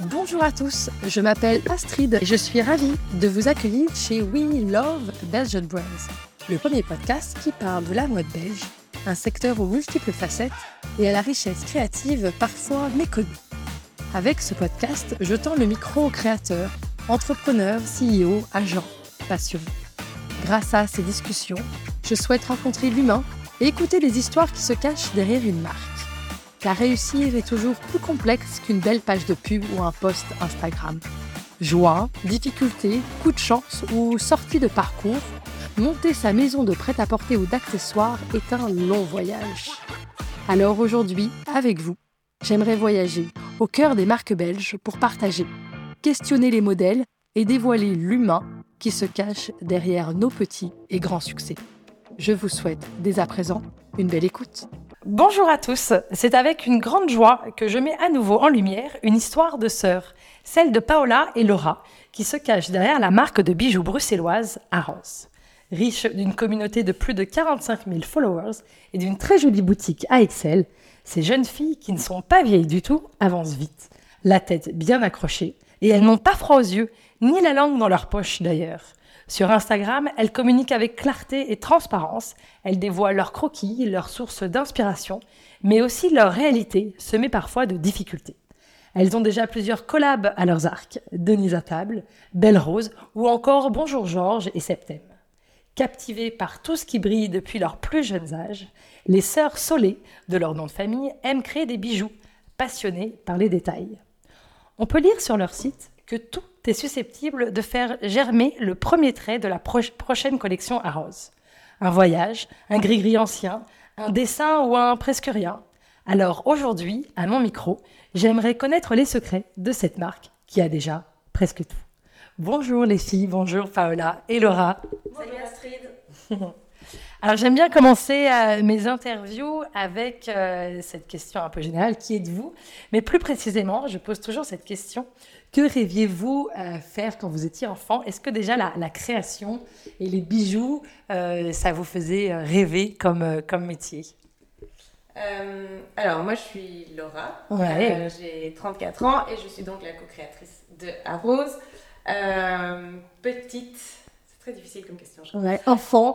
Bonjour à tous, je m'appelle Astrid et je suis ravie de vous accueillir chez We Love Belgian Brands, le premier podcast qui parle de la mode belge, un secteur aux multiples facettes et à la richesse créative parfois méconnue. Avec ce podcast, je tends le micro aux créateurs, entrepreneurs, CEO, agents, passionnés. Grâce à ces discussions, je souhaite rencontrer l'humain et écouter les histoires qui se cachent derrière une marque. Car réussir est toujours plus complexe qu'une belle page de pub ou un post Instagram. Joie, difficultés, coup de chance ou sortie de parcours, monter sa maison de prêt-à-porter ou d'accessoires est un long voyage. Alors aujourd'hui, avec vous, j'aimerais voyager au cœur des marques belges pour partager, questionner les modèles et dévoiler l'humain qui se cache derrière nos petits et grands succès. Je vous souhaite dès à présent une belle écoute. Bonjour à tous, c'est avec une grande joie que je mets à nouveau en lumière une histoire de sœurs, celle de Paola et Laura, qui se cachent derrière la marque de bijoux bruxelloise Arros. Riche d'une communauté de plus de 45 000 followers et d'une très jolie boutique à Excel, ces jeunes filles qui ne sont pas vieilles du tout avancent vite, la tête bien accrochée, et elles n'ont pas froid aux yeux, ni la langue dans leur poche d'ailleurs. Sur Instagram, elles communiquent avec clarté et transparence, elles dévoilent leurs croquis, leurs sources d'inspiration, mais aussi leur réalité, semée parfois de difficultés. Elles ont déjà plusieurs collabs à leurs arcs, Denise à table, Belle Rose ou encore Bonjour Georges et Septem. Captivées par tout ce qui brille depuis leur plus jeunes âges, les sœurs Solé, de leur nom de famille, aiment créer des bijoux, passionnées par les détails. On peut lire sur leur site que tout est susceptible de faire germer le premier trait de la prochaine collection Arros. Un voyage, un gris-gris ancien, un dessin ou un presque rien. Alors aujourd'hui, à mon micro, j'aimerais connaître les secrets de cette marque qui a déjà presque tout. Bonjour les filles, bonjour Paola et Laura. Salut Astrid. Alors j'aime bien commencer mes interviews avec cette question un peu générale, qui êtes-vous ? Mais plus précisément, je pose toujours cette question, que rêviez-vous faire quand vous étiez enfant ? Est-ce que déjà la création et les bijoux, ça vous faisait rêver comme métier ? Alors moi je suis Laura, Ouais. j'ai 34 ans et je suis donc la co-créatrice de Arros. Petite... Très difficile comme question. Ouais, enfant.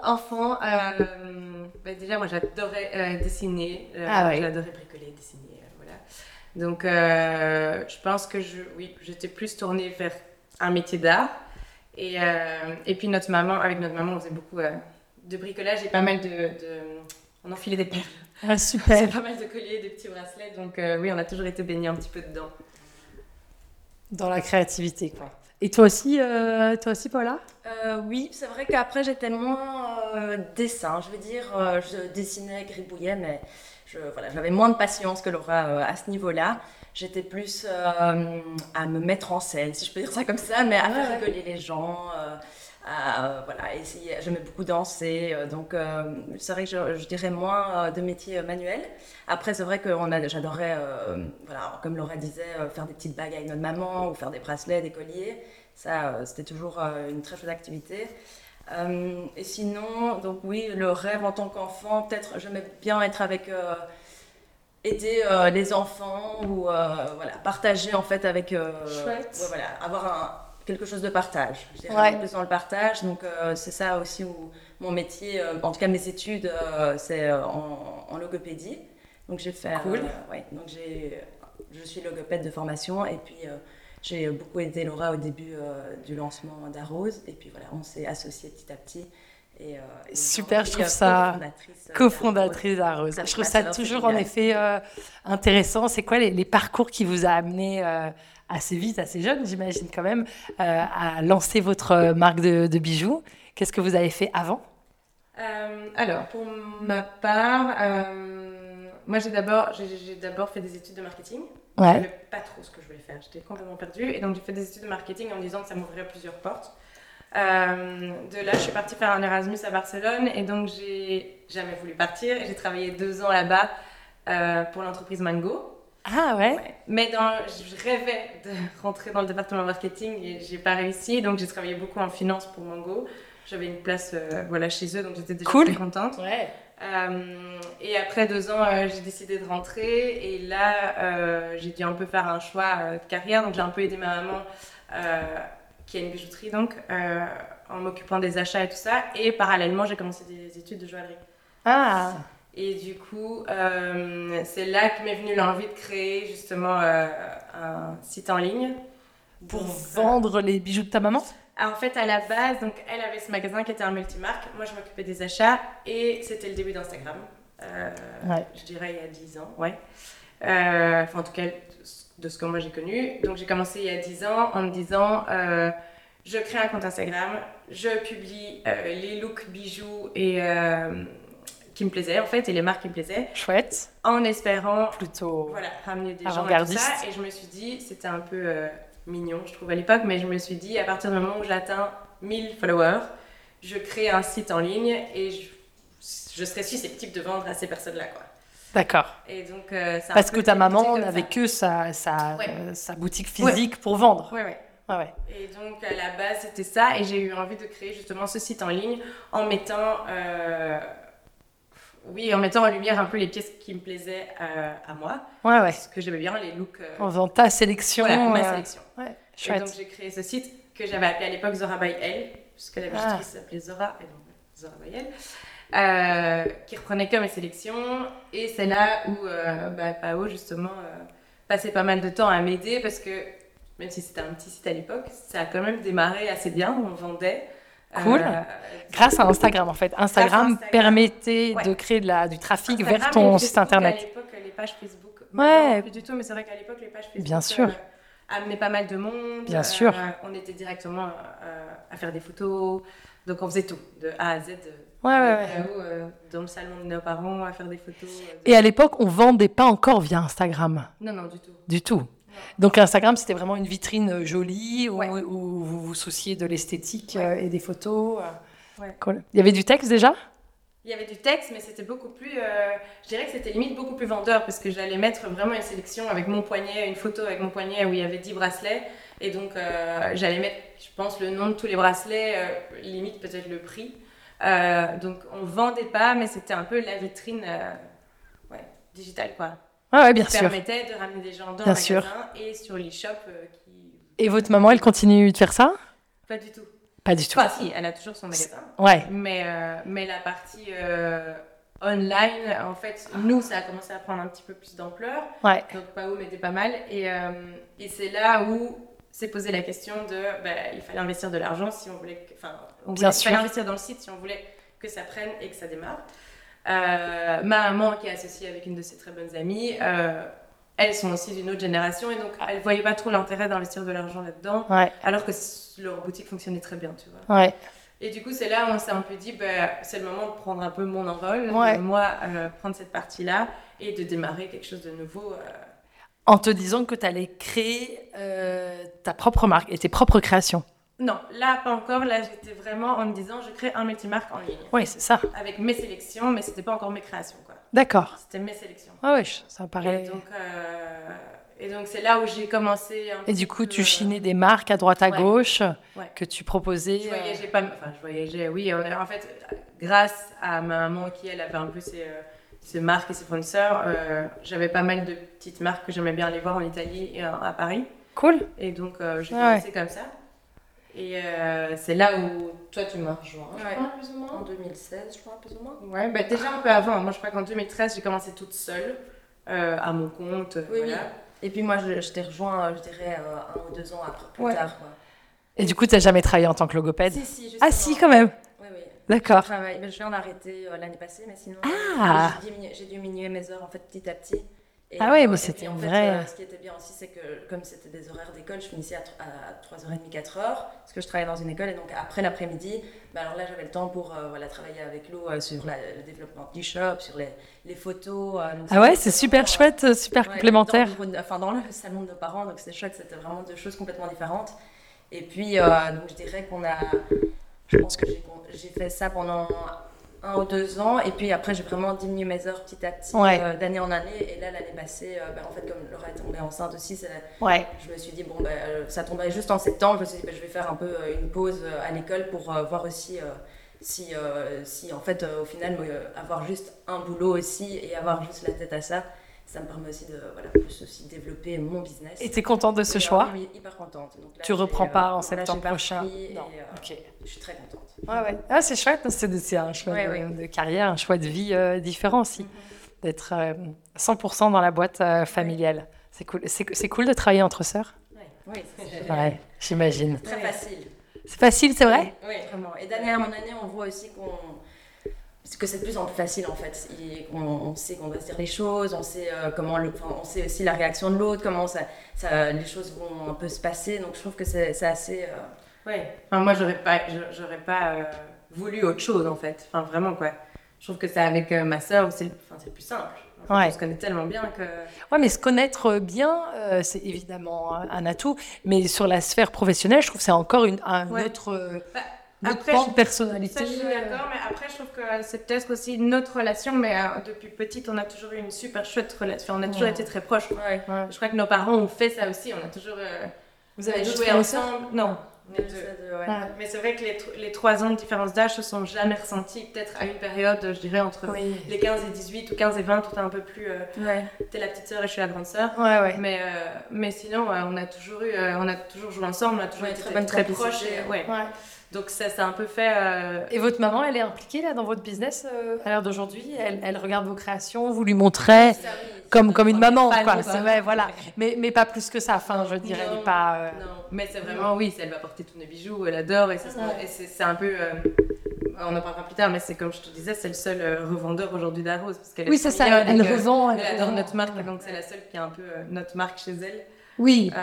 Déjà, moi, j'adorais dessiner. J'adorais bricoler, dessiner. Voilà. Donc, je pense que j'étais plus tournée vers un métier d'art. Et puis, avec notre maman, on faisait beaucoup de bricolage et pas mal on enfilait des perles. Ah, super. C'est pas mal de colliers, de petits bracelets. Donc, oui, on a toujours été baignés un petit peu dedans. Dans la créativité, quoi. Et toi aussi, Paula ? Oui, c'est vrai qu'après j'étais moins dessin, je veux dire, je dessinais, gribouillais, mais j'avais moins de patience que Laura à ce niveau-là. J'étais plus à me mettre en scène, si je peux dire ça comme ça, mais à faire rigoler les gens, essayer. J'aimais beaucoup danser, donc c'est vrai que je dirais moins de métier manuel. Après, c'est vrai que j'adorais, comme Laura disait, faire des petites bagues avec notre maman ou faire des bracelets, des colliers. Ça, c'était toujours une très chouette activité. Et sinon, donc oui, le rêve en tant qu'enfant, peut-être j'aimais bien être aider les enfants ou partager en fait avec avoir quelque chose de partage. Je dirais plus dans le partage, donc c'est ça aussi où mon métier, en tout cas mes études, c'est en logopédie. Donc j'ai fait, donc je suis logopède de formation et puis j'ai beaucoup aidé Laura au début du lancement d'Arros et puis voilà, on s'est associés petit à petit. Super, je trouve ça cofondatrice d'Arros. Je trouve ça toujours en effet intéressant. C'est quoi les parcours qui vous a amené assez vite, assez jeune, j'imagine quand même, à lancer votre marque de bijoux ? Qu'est-ce que vous avez fait avant ? Alors, pour ma part, moi j'ai d'abord fait des études de marketing. Je ne savais pas trop ce que je voulais faire, j'étais complètement perdue. Et donc j'ai fait des études de marketing en me disant que ça m'ouvrirait plusieurs portes. De là, je suis partie faire un Erasmus à Barcelone et donc j'ai jamais voulu partir. Et j'ai travaillé 2 ans là-bas pour l'entreprise Mango. Ah ouais. Mais je rêvais de rentrer dans le département marketing et j'ai pas réussi. Donc j'ai travaillé beaucoup en finance pour Mango. j'avais une place chez eux, donc j'étais déjà cool. très contente. Ouais. Et après 2 ans, j'ai décidé de rentrer. Et là, j'ai dû un peu faire un choix de carrière. Donc j'ai un peu aidé ma maman, qui a une bijouterie, donc, en m'occupant des achats et tout ça. Et parallèlement, j'ai commencé des études de joaillerie. Ah. Et du coup, c'est là que m'est venue l'envie de créer justement un site en ligne. Pour vendre les bijoux de ta maman? En fait, à la base, donc, elle avait ce magasin qui était un multimarque. Moi, je m'occupais des achats et c'était le début d'Instagram. Je dirais il y a 10 ans, ouais. En tout cas, de ce que moi j'ai connu. Donc, j'ai commencé il y a 10 ans en me disant je crée un compte Instagram, je publie les looks bijoux et qui me plaisaient en fait et les marques qui me plaisaient. Chouette. En espérant plutôt ramener des gens et tout ça. Et je me suis dit, c'était un peu mignon, je trouve à l'époque, mais je me suis dit, à partir du moment où j'atteins 1000 followers, je crée un site en ligne et je serai susceptible de vendre à ces personnes-là, quoi. D'accord. Et donc, parce que ta maman n'avait que sa boutique physique pour vendre. Ouais. Ouais. Et donc, à la base, c'était ça. Et j'ai eu envie de créer justement ce site en ligne en mettant en lumière un peu les pièces qui me plaisaient à moi. Ouais. Parce que j'aimais bien les looks. En faisant ta sélection. Voilà, ma sélection. Ouais, chouette. Et donc, j'ai créé ce site que j'avais appelé à l'époque Zora by Elle, puisque la bijouterie s'appelait Zora, et donc Zora by Elle, qui reprenait que mes sélections. Et c'est là où Pao, justement, passait pas mal de temps à m'aider, parce que même si c'était un petit site à l'époque, ça a quand même démarré assez bien, on vendait. Cool. Grâce à Instagram, en fait. Instagram permettait de créer du trafic vers ton site internet. À l'époque, les pages Facebook, non, plus du tout, mais c'est vrai qu'à l'époque, les pages Facebook bien sûr. amenaient pas mal de monde. Bien sûr. On était directement à faire des photos, donc on faisait tout, de A à Z. Dans le salon de nos parents, à faire des photos. Et à l'époque, on vendait pas encore via Instagram. Non, du tout. Du tout. Donc Instagram, c'était vraiment une vitrine jolie où vous vous souciez de l'esthétique et des photos. Cool. Il y avait du texte déjà ? Il y avait du texte, mais c'était beaucoup plus... je dirais que c'était limite beaucoup plus vendeur, parce que j'allais mettre vraiment une sélection avec mon poignet, une photo avec mon poignet où il y avait 10 bracelets. Et donc, j'allais mettre, je pense, le nom de tous les bracelets, limite peut-être le prix. Donc, on vendait pas, mais c'était un peu la vitrine digitale, quoi. Bien sûr. Ça permettait de ramener des gens dans le magasin et sur l'e-shop. Et votre maman, elle continue de faire ça ? Pas du tout. Pas du tout. Enfin, si, elle a toujours son magasin. Ouais. Mais la partie online, en fait, nous, ça a commencé à prendre un petit peu plus d'ampleur. Ouais. Donc, Pao m'aidait pas mal. Et c'est là où s'est posé la question de... il fallait investir de l'argent si on voulait... Il fallait investir dans le site si on voulait que ça prenne et que ça démarre. Ma maman, qui est associée avec une de ses très bonnes amies, elles sont aussi d'une autre génération et donc elles ne voyaient pas trop l'intérêt d'investir de l'argent là-dedans, alors que leur boutique fonctionnait très bien, tu vois. Ouais. Et du coup, c'est là où on s'est un peu dit, c'est le moment de prendre un peu mon envol, de moi prendre cette partie-là et de démarrer quelque chose de nouveau. En te disant que tu allais créer ta propre marque et tes propres créations. Non, là, pas encore. Là, j'étais vraiment en me disant, je crée un multimarque en ligne. Oui, c'est ça. Avec mes sélections, mais c'était pas encore mes créations, quoi. D'accord. C'était mes sélections. Ça paraît... Et donc, c'est là où j'ai commencé... Et du coup, tu chinais des marques à droite à gauche que tu proposais... Je voyageais pas... Enfin, je voyageais, oui. En fait, grâce à ma maman qui, elle, avait un peu ses marques et ses fournisseurs, j'avais pas mal de petites marques que j'aimais bien aller voir en Italie et à Paris. Cool. Et donc, j'ai commencé comme ça. Et c'est là où toi tu m'as rejoint, je crois, plus ou moins. En 2016, je crois, plus ou moins. Ouais, déjà un peu avant. Moi, je crois qu'en 2013, j'ai commencé toute seule, à mon compte. Oui. Et puis moi, je t'ai rejoint, je dirais, 1 ou 2 ans après, plus tard. Quoi. Et du coup, tu n'as jamais travaillé en tant que logopède ? Si, justement. Ah si, quand même. Oui. D'accord. Je viens d'arrêter l'année passée, mais sinon, j'ai diminué mes heures en fait petit à petit. Et, mais c'était en vrai. Fait, ce qui était bien aussi, c'est que comme c'était des horaires d'école, je finissais à 3h30, 4h, parce que je travaillais dans une école, et donc après l'après-midi, alors là j'avais le temps pour travailler avec Lou sur le développement du shop, sur les photos. Donc c'est super chouette, super complémentaire. Dans le salon de nos parents, donc c'était chouette, c'était vraiment 2 choses complètement différentes. Et puis, donc je dirais je pense que j'ai fait ça pendant 1 ou 2 ans, et puis après j'ai vraiment diminué mes heures petit à petit, d'année en année, et là l'année passée, en fait comme Laura est tombée enceinte aussi, je me suis dit ça tombait juste en septembre, je me suis dit je vais faire un peu une pause à l'école pour voir aussi si en fait au final avoir juste un boulot aussi et avoir juste la tête à ça. Ça me permet aussi de plus aussi développer mon business. Et tu es contente de ce choix? Oui, hyper contente. Donc là, tu reprends pas en septembre prochain? Non. Ok. Je suis très contente. Ouais. Ah, c'est chouette, c'est un choix de carrière, un choix de vie différent aussi. D'être 100% dans la boîte familiale. C'est cool. C'est cool de travailler entre sœurs? Oui, c'est génial. Ouais, j'imagine. C'est très facile. C'est facile, c'est vrai? Oui, vraiment. Et d'année en année, on voit aussi que c'est de plus en plus facile en fait. On sait qu'on va se dire les choses, on sait on sait aussi la réaction de l'autre, comment les choses vont un peu se passer. Donc je trouve que c'est assez. Enfin, moi j'aurais pas voulu autre chose en fait. Enfin vraiment quoi. Je trouve que c'est avec ma sœur c'est le plus simple. En fait, on se connaît tellement bien que. Ouais, mais se connaître bien, c'est évidemment un atout. Mais sur la sphère professionnelle, je trouve que c'est encore un autre. Après, de personnalité. Ça, je suis d'accord, mais après, je trouve que c'est peut-être aussi notre relation, mais depuis petite, on a toujours eu une super chouette relation. On a toujours été très proches. Je crois que nos parents ont fait ça aussi. On a toujours Vous avez joué ensemble. Non. Mais c'est vrai que les 3 ans de différence d'âge se sont jamais ressentis. Peut-être à une période, je dirais, entre les 15 et 18 ou 15 et 20, tout est un peu plus. T'es la petite sœur et je suis la grande sœur. Mais sinon, on a toujours joué ensemble, on a toujours été très proches. Donc ça s'est un peu fait... Et votre maman, elle est impliquée là dans votre business à l'heure d'aujourd'hui? Elle regarde vos créations, vous lui montrez comme une maman, quoi. C'est vrai, voilà. Mais pas plus que ça. Enfin, je dirais, elle n'est pas... Non, mais c'est vraiment, elle va porter tous nos bijoux, elle adore. Et c'est un peu... on en parlera plus tard, mais c'est comme je te disais, c'est le seul revendeur aujourd'hui d'Arose. Oui, c'est ça, elle revend. Elle adore notre marque, donc c'est la seule qui a un peu notre marque chez elle. Oui.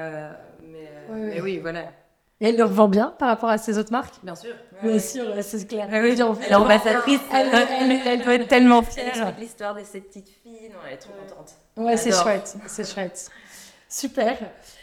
Mais oui, voilà. Et elle le revend bien par rapport à ses autres marques? Bien sûr. Bien sûr, c'est clair. Elle est ambassadrice. Elle doit être tellement fière. Elle explique l'histoire de ces petites filles. Non, elle est trop contente. Ouais, c'est chouette. Super.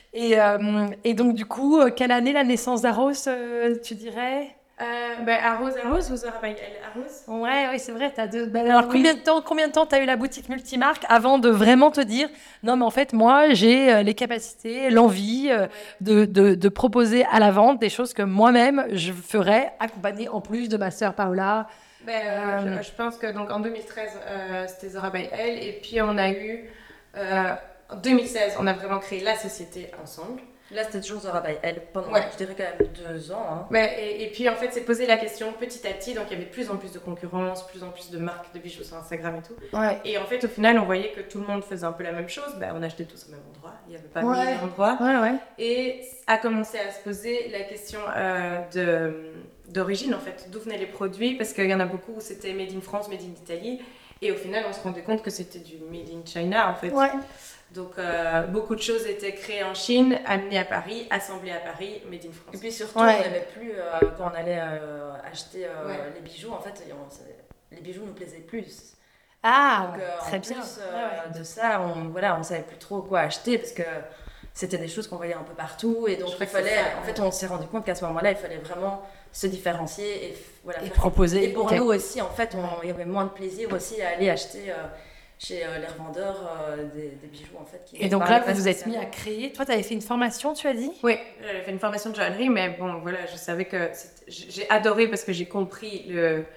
Et donc, du coup, quelle année la naissance d'Arose, tu dirais? Arose, vous aurez Arose. Oui, c'est vrai. Alors, combien de temps tu as eu la boutique multimarque avant de vraiment te dire non, mais en fait, moi, j'ai les capacités, l'envie de proposer à la vente des choses que moi-même je ferais, accompagnée en plus de ma sœur Paola. Je pense que donc en 2013, c'était Zora by Elle, et puis on a eu en 2016, on a vraiment créé la société ensemble. Là, c'était toujours Zora by Elle pendant, je dirais, quand même 2 ans. Hein. Et puis, en fait, c'est posé la question petit à petit. Donc, il y avait de plus en plus de concurrence, plus en plus de marques de bijoux sur Instagram et tout. Et en fait, au final, on voyait que tout le monde faisait un peu la même chose. On achetait tous au même endroit. Il n'y avait pas 1000 endroits. Et a commencé à se poser la question d'origine, en fait. D'où venaient les produits? Parce qu'il y en a beaucoup où c'était made in France, made in Italie. Et au final, on se rendait compte que c'était du made in China, en fait. Donc, beaucoup de choses étaient créées en Chine, amenées à Paris, assemblées à Paris, made in France. Et puis surtout, on n'aimait plus, quand on allait acheter les bijoux, en fait, les bijoux nous plaisaient plus. Ah, donc, très bien. De ça, on savait plus trop quoi acheter parce que c'était des choses qu'on voyait un peu partout. Et donc, on s'est rendu compte qu'à ce moment-là, il fallait vraiment se différencier et proposer. Et pour nous aussi, en fait, il y avait moins de plaisir aussi à aller acheter... chez les revendeurs des bijoux en fait. Et donc là, vous vous êtes mis à créer. Toi, tu avais fait une formation, tu as dit? Oui, j'avais fait une formation de joaillerie, mais bon, voilà, je savais que j'ai adoré parce que j'ai compris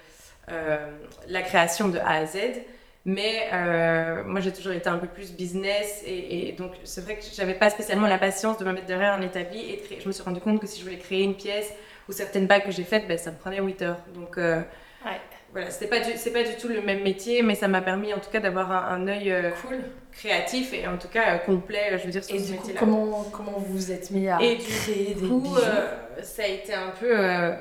la création de A à Z. Mais moi, j'ai toujours été un peu plus business et donc c'est vrai que j'avais pas spécialement la patience de me mettre derrière un établi et de créer. Je me suis rendu compte que si je voulais créer une pièce ou certaines bagues que j'ai faites, ça me prenait 8 heures. Donc voilà, c'est pas du tout le même métier, mais ça m'a permis en tout cas d'avoir un œil créatif et en tout cas complet, je veux dire, sur ce métier-là. Et du coup, comment vous vous êtes mis à créer des bijoux? Ça a été un peu...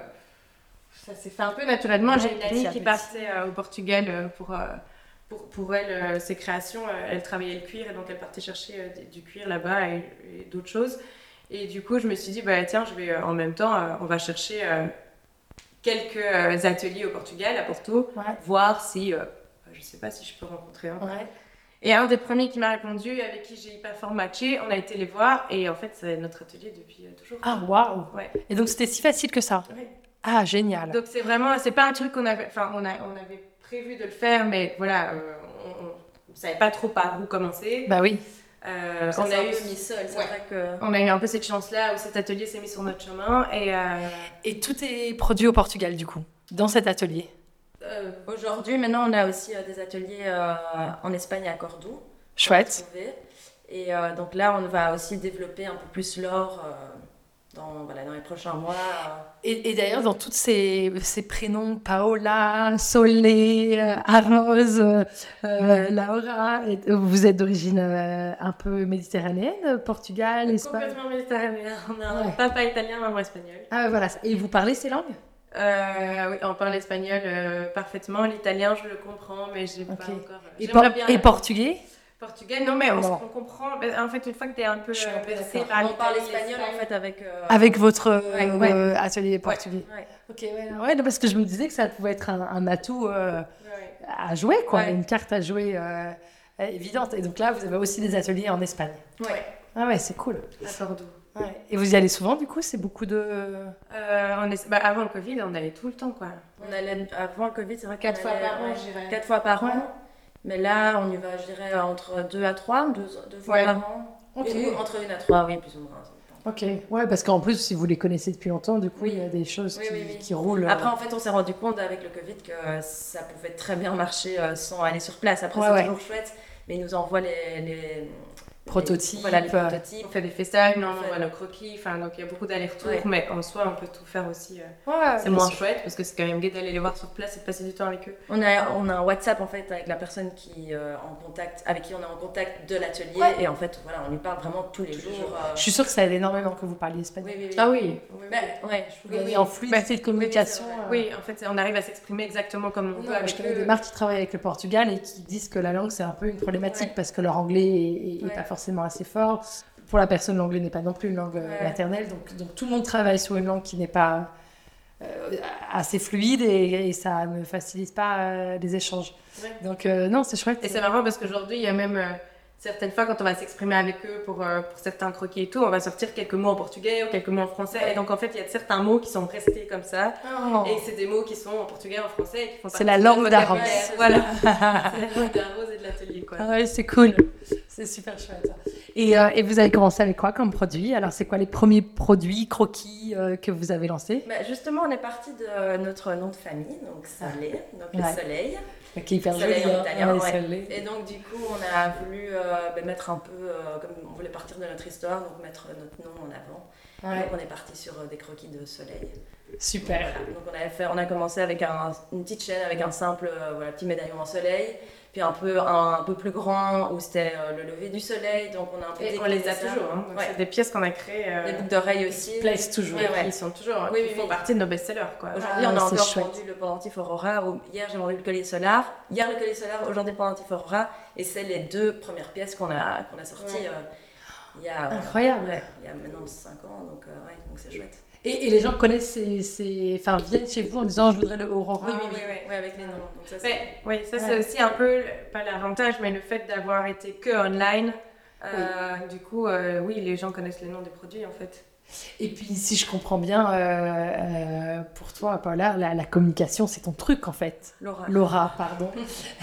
ça s'est fait un peu naturellement. J'ai une amie qui partait au Portugal pour elle, ses créations. Elle travaillait le cuir et donc elle partait chercher du cuir là-bas et d'autres choses. Et du coup, je me suis dit, tiens, je vais en même temps, on va chercher... quelques ateliers au Portugal, à Porto, voir si, je sais pas si je peux rencontrer un. Et un des premiers qui m'a répondu, avec qui j'ai hyper fort matché, on a été les voir et en fait c'est notre atelier depuis toujours. Ah waouh! Et donc c'était si facile que ça? Ah, génial. Donc c'est pas un truc qu'on avait, enfin on avait prévu de le faire, mais voilà, on savait pas trop par où commencer. Bah oui. On a eu mis seul, c'est vrai que... On a eu un peu cette chance-là où cet atelier s'est mis sur notre chemin Et tout est produit au Portugal du coup, dans cet atelier. Aujourd'hui, maintenant, on a aussi des ateliers en Espagne à Cordoue. Chouette. Et donc là, on va aussi développer un peu plus l'or dans les prochains mois. Et d'ailleurs, dans tous ces prénoms, Paola, Solé, Arose, Laura, vous êtes d'origine un peu méditerranéenne, Portugal, Espagne? Complètement méditerranéen. On a un papa italien, maman espagnole. Ah voilà. Et vous parlez ces langues? Oui, on parle espagnol parfaitement. L'italien, je le comprends, mais j'ai pas encore... Et portugais? Portugais, non, mais on comprend. En fait, une fois que tu es un peu bercé par on parle espagnol en fait avec votre atelier portugais. Ouais. Ok, ouais, non, parce que je me disais que ça pouvait être un atout à jouer, quoi, une carte à jouer évidente. Et donc là, vous avez aussi des ateliers en Espagne. Ouais. Ah ouais, c'est cool. À Cordoue. Ouais. Et vous y allez souvent, du coup? C'est beaucoup de... avant le Covid, on allait tout le temps, quoi. On allait, avant le Covid, c'est vrai 4 fois par an, je dirais. 4 fois par an. Mais là, on y va, je dirais, entre 2 à 3, 2 fois par an. Okay. Entre 1 à 3, oui, plus ou moins. Ok, ouais, parce qu'en plus, si vous les connaissez depuis longtemps, du coup, il y a des choses qui roulent. Après, en fait, on s'est rendu compte avec le Covid que ça pouvait très bien marcher sans aller sur place. Après, c'est toujours chouette, mais ils nous envoient les prototypes. Les prototypes. On fait des FaceTime, on voit nos croquis, donc il y a beaucoup d'allers-retours, mais en soi, on peut tout faire aussi. C'est moins chouette parce que c'est quand même gai d'aller les voir sur place et de passer du temps avec eux. On a un WhatsApp en fait avec la personne avec qui on est en contact de l'atelier et en fait, voilà, on lui parle vraiment tous les jours. Je suis sûre que ça aide énormément que vous parliez espagnol. Oui. Ah oui. En fluidité de communication. Oui, en fait, on arrive à s'exprimer exactement comme on veut. Je connais des marques qui travaillent avec le Portugal et qui disent que la langue, c'est un peu une problématique parce que leur anglais est pas forcément assez fort. Pour la personne, l'anglais n'est pas non plus une langue maternelle. Donc tout le monde travaille sur une langue qui n'est pas assez fluide et ça ne facilite pas les échanges. Donc non, c'est chouette. Et c'est marrant parce qu'aujourd'hui, il y a même certaines fois quand on va s'exprimer avec eux pour certains croquis et tout, on va sortir quelques mots en portugais ou quelques mots en français. Et donc en fait, il y a certains mots qui sont restés comme ça. Et c'est des mots qui sont en portugais, en français. Et qui font c'est la langue d'Arose. Voilà. C'est la langue d'Arose et de l'atelier, quoi. Ouais, c'est cool. C'est super chouette. Et vous avez commencé avec quoi comme produit? Alors, c'est quoi les premiers produits, croquis que vous avez lancés? Justement, on est parti de notre nom de famille, donc Solé, donc le soleil. Qui est hyper joli, en italien. Soleil. Et donc, du coup, on a voulu mettre un peu, comme on voulait partir de notre histoire, donc mettre notre nom en avant. Donc, on est parti sur des croquis de soleil. Super. Voilà. Donc, on a commencé avec une petite chaîne avec un simple petit médaillon en soleil. Puis un peu plus grand où c'était le lever du soleil, donc on a un peu on les a toujours, hein. C'est des pièces qu'on a créées. Les boucles d'oreilles aussi. Ils plaisent toujours. Ils sont toujours, ils font partie de nos best-sellers, quoi. Aujourd'hui, on a encore vendu le pendentif Aurora. Hier, j'ai vendu le collier solar. Hier, le collier solar, aujourd'hui, le pendentif Aurora. Et c'est les 2 premières pièces qu'on a sorties il y a... Incroyable. Il y a maintenant 5 ans, donc c'est chouette. Et les gens connaissent viennent chez vous en disant je voudrais le Aurora. Oui, avec les noms. Donc ça, c'est aussi un peu, pas l'avantage, mais le fait d'avoir été que online. Du coup, les gens connaissent les noms des produits en fait. Et puis, si je comprends bien, pour toi, Paola, la communication, c'est ton truc en fait. Laura, pardon.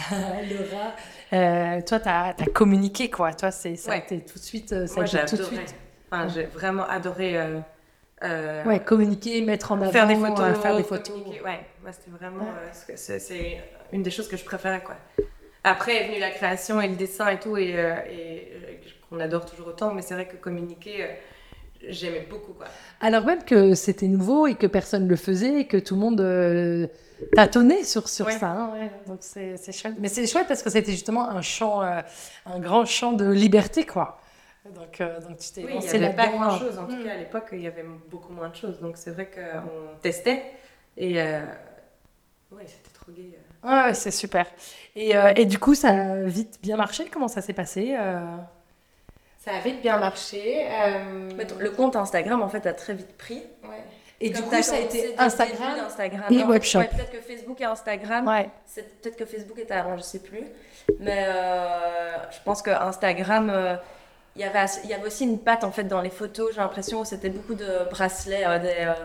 Laura. Toi, t'as communiqué quoi. Toi, ça a été tout de suite. Moi, j'ai adoré. Enfin, j'ai vraiment adoré. Communiquer, mettre en avant, faire des photos, faire des photos. Moi c'était vraiment c'est une des choses que je préférais, quoi. Après est venue la création et le dessin et tout et qu'on adore toujours autant, mais c'est vrai que communiquer j'aimais beaucoup, quoi. Alors même que c'était nouveau et que personne ne le faisait et que tout le monde tâtonnait sur ça. Hein, donc c'est chouette. Mais c'est chouette parce que c'était justement un grand champ de liberté, quoi. Donc tu t'es lancé il n'y avait pas là-dedans. grand-chose. En tout cas, à l'époque, il y avait beaucoup moins de choses. Donc, c'est vrai qu'on testait. Et c'était trop gai. Ouais, c'est super. Et du coup, ça a vite bien marché. Comment ça s'est passé Ça a vite bien marché. Le compte Instagram, en fait, a très vite pris. Ouais. Et du coup, ça a été Instagram et webshop. Peut-être que Facebook et Instagram. Peut-être que Facebook était avant, je ne sais plus. Mais je pense que Instagram... Il y avait aussi une patte en fait dans les photos, j'ai l'impression, où c'était beaucoup de bracelets,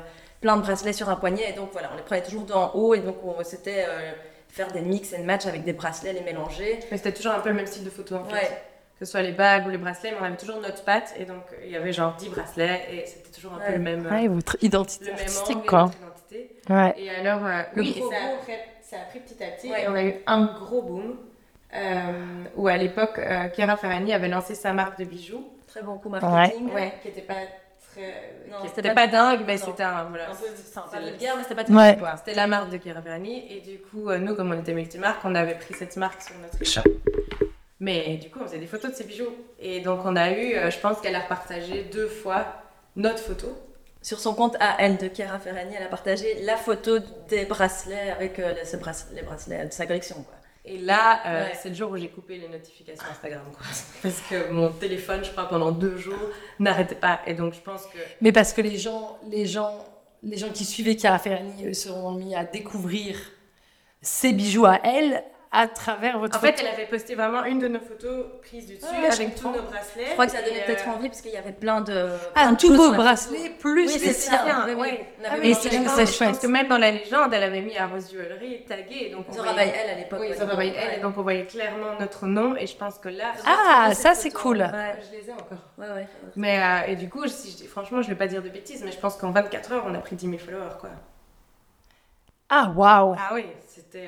plein de bracelets sur un poignet. Et donc voilà, on les prenait toujours d'en haut. Et donc c'était faire des mix and match avec des bracelets, les mélanger. Mais c'était toujours un peu le même style de photo en fait. Ouais. Que ce soit les bagues ou les bracelets, mais on avait toujours notre patte. Et donc il y avait genre 10 bracelets et c'était toujours un peu le même. Ouais, votre identité le même artistique, angle, quoi. notre identité. Ouais. Et alors, oui, gros et boom. ça a pris petit à petit. Ouais. Et on a eu un gros boom où à l'époque, Chiara Ferragni avait lancé sa marque de bijoux. Très bon coup marketing. Ouais, qui n'était pas Non, qui c'était était pas- pas dingue, mais non. c'était un voilà. Un peu sympa, C'était- vulgaire, mais c'était pas Ouais. très quoi. C'était la marque de Chiara Ferragni et du coup, nous, comme on était multimarque, on avait pris cette marque sur notre Ça. Mais du coup, on faisait des photos de ces bijoux. Et donc, on a eu, je pense qu'elle a repartagé 2 fois notre photo. Sur son compte à elle de Chiara Ferragni, elle a partagé la photo des bracelets avec les bracelets de sa collection. Quoi. Et là, Ouais. c'est le jour où j'ai coupé les notifications Instagram. Quoi. Parce que mon téléphone, je crois, pendant 2 jours, n'arrêtait pas. Et donc, je pense que... Mais parce que les gens qui suivaient Chiara Ferragni eux, se sont mis à découvrir ses bijoux à elle à travers votre En photo. fait, elle avait posté vraiment une de nos photos prises du dessus Ouais, je avec tous comprends. nos bracelets. Je crois que ça donnait Et, peut-être envie parce qu'il y avait plein de. Ah, plein de tous choses vos sur la bracelets photo. plus Oui, les c'est siens. ça. Oui, Ouais. oui. On Ah avait oui, mis c'est les vrai que gens- c'est Je chouette. pense que même dans la légende, elle avait mis à Rose Jewelry tagué. Donc on Zora voyait- by Elle à l'époque. Oui, ouais. Zora by Elle. Ouais. Et donc on voyait clairement notre nom. Et je pense que là... Ah, J'ai ça retrouvé c'est cette cool. photo. Ouais. Je les ai encore. Ouais. Mais et du coup, franchement, je vais pas dire de bêtises, mais je pense qu'en 24 heures, on a pris 10 000 followers, quoi. Ah, waouh. Ah oui, c'était...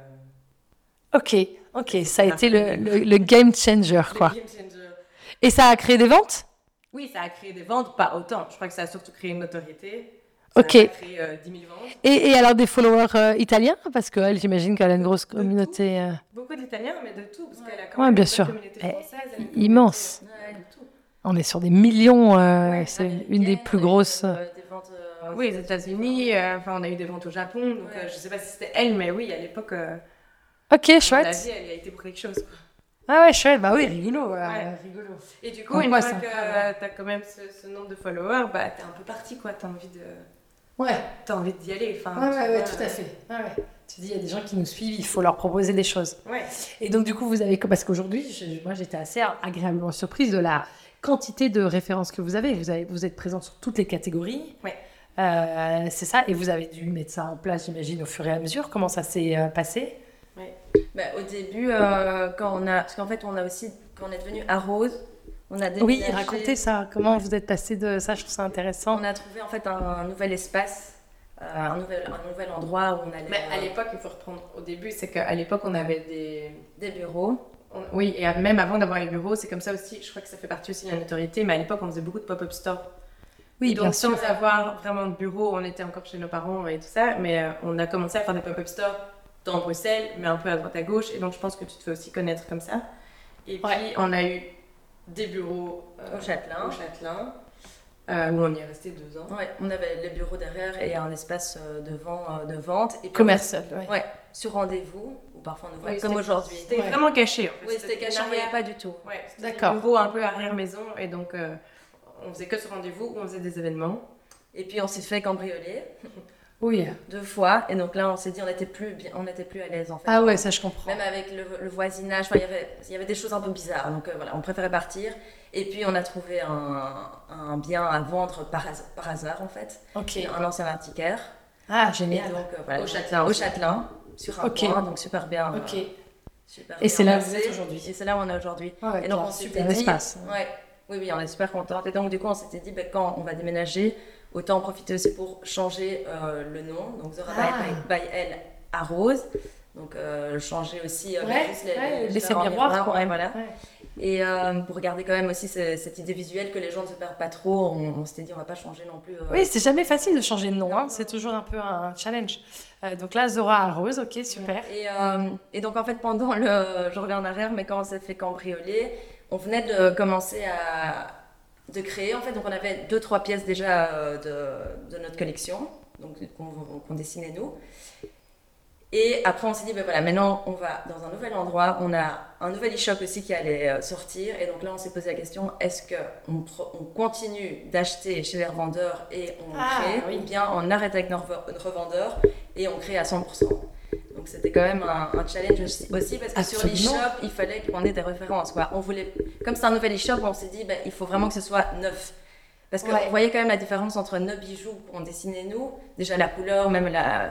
Ok, ça a été le game changer, quoi. le game changer. Et ça a créé des ventes? Oui, ça a créé des ventes, pas autant. Je crois que ça a surtout créé une notoriété. Ça Ok. a créé 10 000 ventes. Et alors des followers italiens? Parce qu'elle, j'imagine qu'elle a une grosse De tout. communauté Beaucoup d'Italiens, mais de tout, parce qu'elle a quand Ouais, même bien une sûr. communauté Eh, française. elle a une immense. communauté, de tout. On est sur des millions, c'est Américaine, une des plus on a eu, grosses... des ventes, Oui, aux États-Unis, enfin, on a eu des ventes au Japon, donc Ouais. je sais pas si c'était elle, mais oui, à l'époque, Ok, la chouette. vie, elle a été pour quelque chose. Quoi. Ah ouais, chouette, bah oui, rigolo. Ouais. Rigolo. Et du coup, Comme une quoi, fois c'est que incroyable. t'as quand même ce nombre de followers, bah t'es un peu parti, quoi. T'as envie Ouais, d'y aller. Enfin, tout à fait. Tu dis, il y a des gens qui nous suivent, il faut leur proposer des choses. Ouais. Et donc, du coup, vous avez... Parce qu'aujourd'hui, moi, j'étais assez agréablement surprise de la quantité de références que vous avez. Vous êtes présente sur toutes les catégories. Ouais. C'est ça. Et vous avez dû mettre ça en place, j'imagine, au fur et à mesure. Comment ça s'est passé? Bah, au début, parce qu'en fait, on a aussi, quand on est devenu à Rose, on a Oui, déménagé. racontez ça. Comment vous êtes passé de ça? Je trouve ça intéressant. On a trouvé en fait un nouvel espace, un nouvel endroit où on allait. Mais à l'époque, il faut reprendre au début, c'est qu'à l'époque, on avait des bureaux. Oui, et même avant d'avoir les bureaux, c'est comme ça aussi, je crois que ça fait partie aussi de la notoriété, mais à l'époque, on faisait beaucoup de pop-up stores. Oui, Et donc, bien sûr. sans avoir vraiment de bureau, on était encore chez nos parents et tout ça, mais on a commencé à faire des pop-up stores dans Bruxelles, mais un peu à droite à gauche, et donc je pense que tu te fais aussi connaître comme ça. Et puis, on a eu des bureaux Au Châtelain. Où on y est resté 2 ans. Ouais, on avait les bureaux derrière et un espace de vente. Et puis Commercial, Ouais, sur rendez-vous, ou parfois on ouvrait Oui, comme c'était- aujourd'hui. C'était Ouais. vraiment caché. En fait. Oui, c'était caché, on ne voyait pas du tout. Ouais, c'était D'accord. un bureau un peu arrière-maison, et donc on faisait que ce rendez-vous où on faisait des événements. Et puis on s'est fait cambrioler Oui. 2 fois. Et donc là, on s'est dit on n'était plus à l'aise en fait. Ah ouais, ça je comprends. Même avec le voisinage, enfin, il y avait des choses un peu bizarres. Donc voilà, on préférait partir. Et puis on a trouvé un bien à vendre par hasard en fait. Ok. Un ancien antiquaire. Ah, Et génial. donc voilà, Au Châtelain Au aussi. Châtelain, sur un Ok. point, donc super bien. Ok. Super Et bien c'est là où vous placé. êtes aujourd'hui. Et c'est là où on est aujourd'hui. Ouais, Et donc un on s'était super dit, espace. ouais, oui, on est super contente. Et donc du coup, on s'était dit, quand on va déménager, autant en profiter aussi pour changer le nom. Donc Zora by Elle à Rose. Donc changer aussi Ouais, juste ouais, laisser différents miroir, quoi. ouais, voilà. Ouais. Et pour garder quand même aussi cette idée visuelle que les gens ne se perdent pas trop, on s'était dit on va pas changer non plus. Oui, c'est jamais facile de changer de nom, hein. C'est toujours un peu un challenge. Donc là, Zora à Rose, ok, super. Et donc en fait pendant je reviens en arrière, mais quand on s'est fait cambrioler, on venait de commencer de créer en fait, donc on avait 2-3 pièces déjà de notre collection, donc qu'on dessinait nous. Et après, on s'est dit, ben voilà, maintenant, on va dans un nouvel endroit. On a un nouvel e-shop aussi qui allait sortir. Et donc là, on s'est posé la question, est-ce qu'on continue d'acheter chez les revendeurs et on crée, oui. ou bien on arrête avec nos revendeurs et on crée à 100%. Donc c'était quand même un challenge aussi parce que Absolument. sur l'e-shop, il fallait qu'on ait des références. Quoi. On voulait, comme c'est un nouvel e-shop, on s'est dit, ben, il faut vraiment que ce soit neuf. Parce qu'on voyait quand même la différence entre nos bijoux qu'on dessinait nous, déjà la couleur, même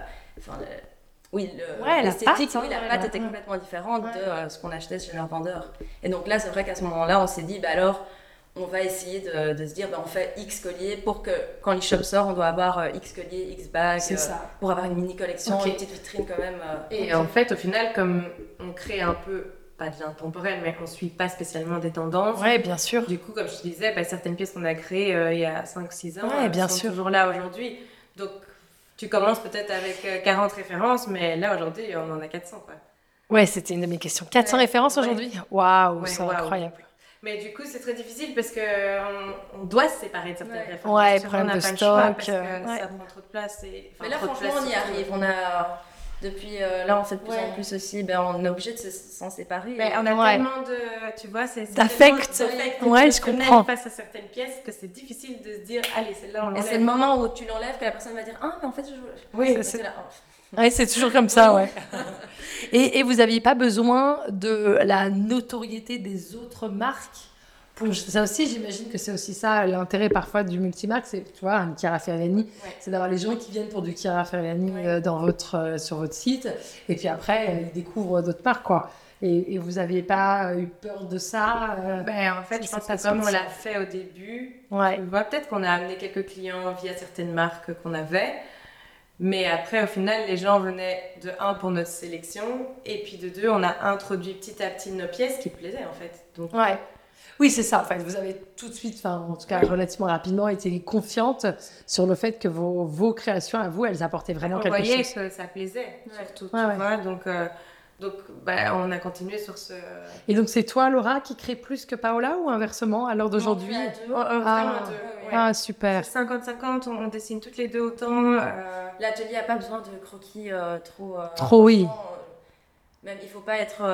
l'esthétique, la pâte était complètement différente de ce qu'on achetait chez leur vendeur. Et donc là, c'est vrai qu'à ce moment-là, on s'est dit, alors, on va essayer de se dire, on fait X collier pour que quand l'e-shop sort, on doit avoir X collier, X bague, pour avoir une mini collection, une petite vitrine quand même. Et en fait, au final, comme on crée un peu, pas de l'intemporel, mais on ne suit pas spécialement des tendances. Oui, bien sûr. Du coup, comme je te disais, certaines pièces qu'on a créées il y a 5-6 ans sont toujours là aujourd'hui. Donc, tu commences peut-être avec 40 références, mais là, aujourd'hui, on en a 400. Quoi. Ouais, c'était une de mes questions. 400 références aujourd'hui ? Waouh, c'est incroyable. Mais du coup, c'est très difficile parce qu'on doit se séparer de certaines références. Ouais, problème de stock. Parce que ça prend trop de place. Mais là, franchement, on y arrive. On a... Depuis là, on fait de plus en plus aussi. On est obligé de s'en séparer. Mais on a tellement de... Tu vois, c'est d'affect. Ouais, je comprends. Face à certaines pièces que c'est difficile de se dire, allez, celle-là, on l'enlève. Et c'est le moment où tu l'enlèves que la personne va dire, ah, mais en fait, je... Oui, c'est toujours comme ça, ouais. Et vous n'aviez pas besoin de la notoriété des autres marques pour ça aussi, j'imagine que c'est aussi ça l'intérêt parfois du multimarque, c'est, tu vois, un Chiara Ferragni, c'est d'avoir les gens qui viennent pour du Chiara Ferragni sur votre site, et puis après, ils découvrent d'autres marques, quoi. Et vous n'aviez pas eu peur de ça En fait, je pense que comme on l'a fait au début, tu vois, peut-être qu'on a amené quelques clients via certaines marques qu'on avait, mais après, au final, les gens venaient de 1 pour notre sélection, et puis de 2, on a introduit petit à petit nos pièces qui plaisaient, en fait. Donc, oui, c'est ça, en fait. Vous avez tout de suite, en tout cas relativement rapidement, été confiante sur le fait que vos créations à vous, elles apportaient vraiment quelque chose. On voyait que ça plaisait, surtout, tu vois. Donc on a continué sur ce... Et donc, c'est toi, Laura, qui crée plus que Paola ou inversement à l'heure d'aujourd'hui ? Vraiment deux. Ah, super. 50-50, on dessine toutes les deux autant. L'atelier n'a pas besoin de croquis trop, oui. Même, il ne faut pas être...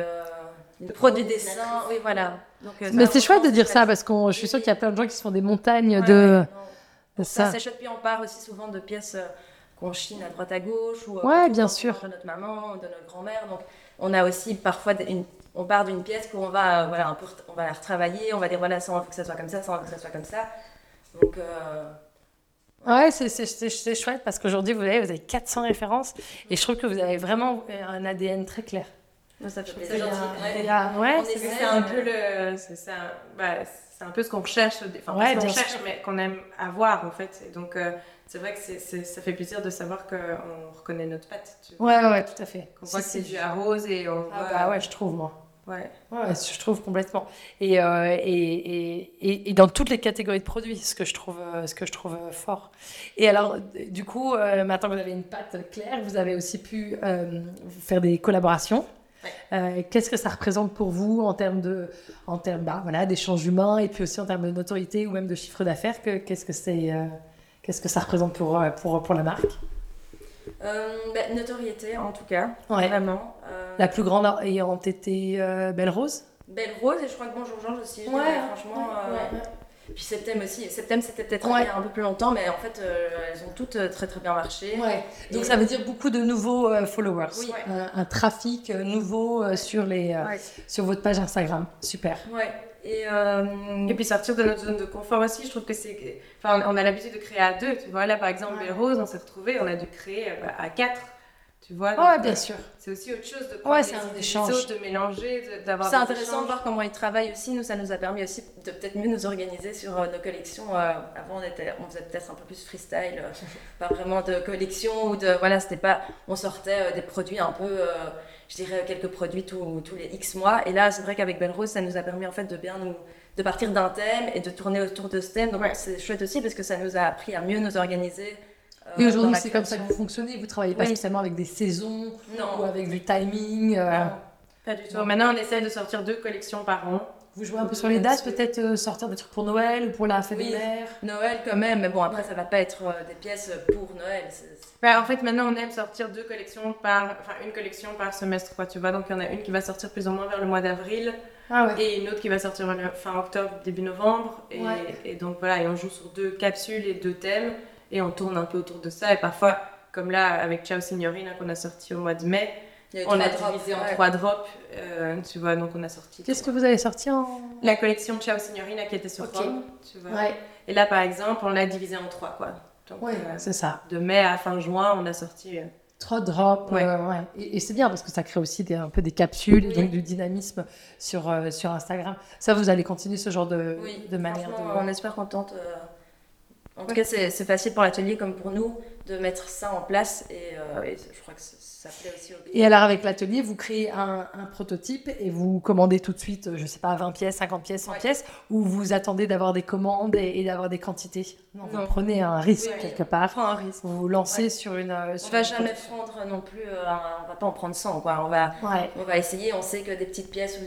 pro du dessin, oui, voilà. Donc, mais c'est chouette de dire ça parce que je suis sûre qu'il y a plein de gens qui se font des montagnes de ça. C'est chouette, puis on part aussi souvent de pièces qu'on chine à droite à gauche ou bien sûr. de notre maman ou de notre grand-mère. Donc on a aussi parfois on part d'une pièce où on va on va la retravailler, on va dire voilà, ça on veut que ça soit comme ça, ça on veut que ça soit comme ça. Donc ouais, c'est chouette parce qu'aujourd'hui vous avez 400 références et je trouve que vous avez vraiment un ADN très clair. Ça fait plaisir. C'est un peu c'est un peu ce qu'on recherche, qu'on cherche, mais qu'on aime avoir en fait. Et donc c'est vrai que ça fait plaisir de savoir qu'on reconnaît notre patte. Ouais, tout à fait. Qu'on voit que c'est du à rose et on voit... ouais, je trouve moi. Ouais, je trouve complètement. Et dans toutes les catégories de produits, ce que je trouve fort. Et alors, du coup, maintenant que vous avez une patte claire, vous avez aussi pu faire des collaborations. Qu'est-ce que ça représente pour vous en termes d'échanges humains et puis aussi en termes de notoriété ou même de chiffre d'affaires qu'est-ce que ça représente pour la marque? Notoriété en tout cas, vraiment. La plus grande ayant été Belle Rose. Belle Rose et je crois que Bonjour Georges aussi. Franchement. Puis Septem aussi. Septem c'était peut-être un peu plus longtemps, mais en fait elles ont toutes très très bien marché. Donc ça veut dire beaucoup de nouveaux followers. Oui. Un trafic nouveau sur votre page Instagram. Super. Et puis sortir de notre zone de confort aussi, je trouve que c'est... Enfin, on a l'habitude de créer à 2, tu vois. Là, par exemple, Belle Rose, on s'est retrouvés, on a dû créer à 4, tu vois. Oui, bien sûr. C'est aussi autre chose de prendre c'est un échange. autres, de mélanger, d'avoir c'est intéressant de voir comment ils travaillent aussi. Nous, ça nous a permis aussi de peut-être mieux nous organiser sur nos collections. Avant, on faisait peut-être un peu plus freestyle, pas vraiment de collection ou de... Voilà, c'était pas... On sortait des produits un peu... je dirais quelques produits tous les X mois. Et là, c'est vrai qu'avec Belle Rose, ça nous a permis en fait de partir d'un thème et de tourner autour de ce thème. Donc c'est chouette aussi parce que ça nous a appris à mieux nous organiser. Et aujourd'hui, c'est comme ça que vous fonctionnez. Vous ne travaillez pas spécialement avec des saisons ou avec du timing. Non, pas du tout. Maintenant, on essaie de sortir 2 collections par an. Vous jouez un peu sur les dates, peut-être sortir des trucs pour Noël ou pour la fête des mères. Noël quand même, mais bon, après, ça ne va pas être des pièces pour Noël. En fait, maintenant, on aime sortir 2 collections une collection par semestre, quoi, tu vois. Donc, il y en a une qui va sortir plus ou moins vers le mois d'avril et une autre qui va sortir fin octobre, début novembre. Et donc, voilà, et on joue sur 2 capsules et 2 thèmes et on tourne un peu autour de ça. Et parfois, comme là, avec Ciao Signorina qu'on a sorti au mois de mai, on a divisé en 3 drops, tu vois, donc on a sorti... Qu'est-ce que vous avez sorti La collection Ciao Signorina qui était sur Rome, tu vois. Et là, par exemple, on l'a divisé en 3, quoi. Donc, c'est ça. De mai à fin juin, on a sorti... 3 drops, ouais. Et c'est bien parce que ça crée aussi un peu des capsules, et donc du dynamisme sur Instagram. Ça, vous allez continuer ce genre de manière de... On est super contente. En tout cas, c'est facile pour l'atelier comme pour nous de mettre ça en place et je crois que ça plaît aussi aux clients. Et alors, avec l'atelier, vous créez un prototype et vous commandez tout de suite, je sais pas, 20 pièces, 50 pièces, 100 pièces, ou vous attendez d'avoir des commandes et d'avoir des quantités? Non, vous prenez un risque quelque part. On prend un risque. Vous vous lancez sur une... on va jamais prendre non plus, on va pas en prendre 100, quoi. On va essayer, on sait que des petites pièces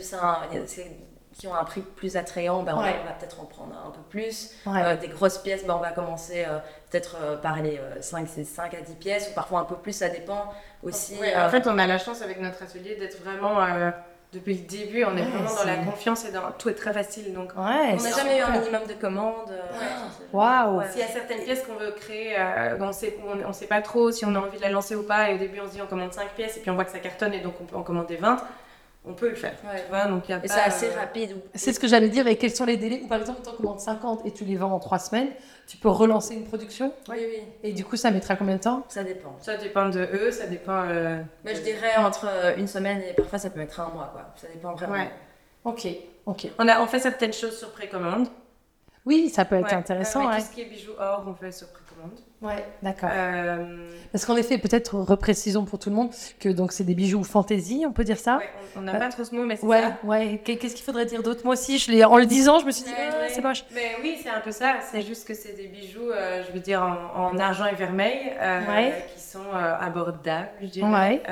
qui ont un prix plus attrayant, on va peut-être en prendre un peu plus. Des grosses pièces, on va commencer peut-être par les 5 à 10 pièces, ou parfois un peu plus, ça dépend aussi. En fait, on a la chance avec notre atelier d'être vraiment, depuis le début, on est vraiment dans la confiance et tout est très facile. Donc, on n'a jamais eu un minimum de commandes. Waouh! S'il y a certaines pièces qu'on veut créer, on sait pas trop si on a envie de la lancer ou pas, et au début on se dit on commande 5 pièces, et puis on voit que ça cartonne, et donc on peut en commander 20. On peut le faire, tu vois, donc y a et pas, c'est assez rapide. C'est ce que j'allais dire. Et quels sont les délais? Ou par exemple, tu en commandes 50 et tu les vends en 3 semaines, tu peux relancer une production? Oui. Et du coup, ça mettra combien de temps? Ça dépend. Ça dépend de eux, ça dépend... Mais je dirais entre une semaine et parfois ça peut mettre un mois, quoi. Ça dépend vraiment. Ouais. Ok. On fait certaines choses sur précommande. Oui, ça peut être intéressant. Tout ce qui est bijoux or, on fait sur précommande. Ouais, d'accord. Parce qu'en effet, peut-être reprécisons pour tout le monde que donc c'est des bijoux fantaisie, on peut dire ça. Ouais, on n'a pas trop ce mot, mais c'est ça. Ouais. Qu'est-ce qu'il faudrait dire d'autre? Moi aussi, en le disant, je me suis dit c'est moche. Mais oui, c'est un peu ça. C'est juste que c'est des bijoux, je veux dire en argent et vermeil, qui sont abordables, je dirais.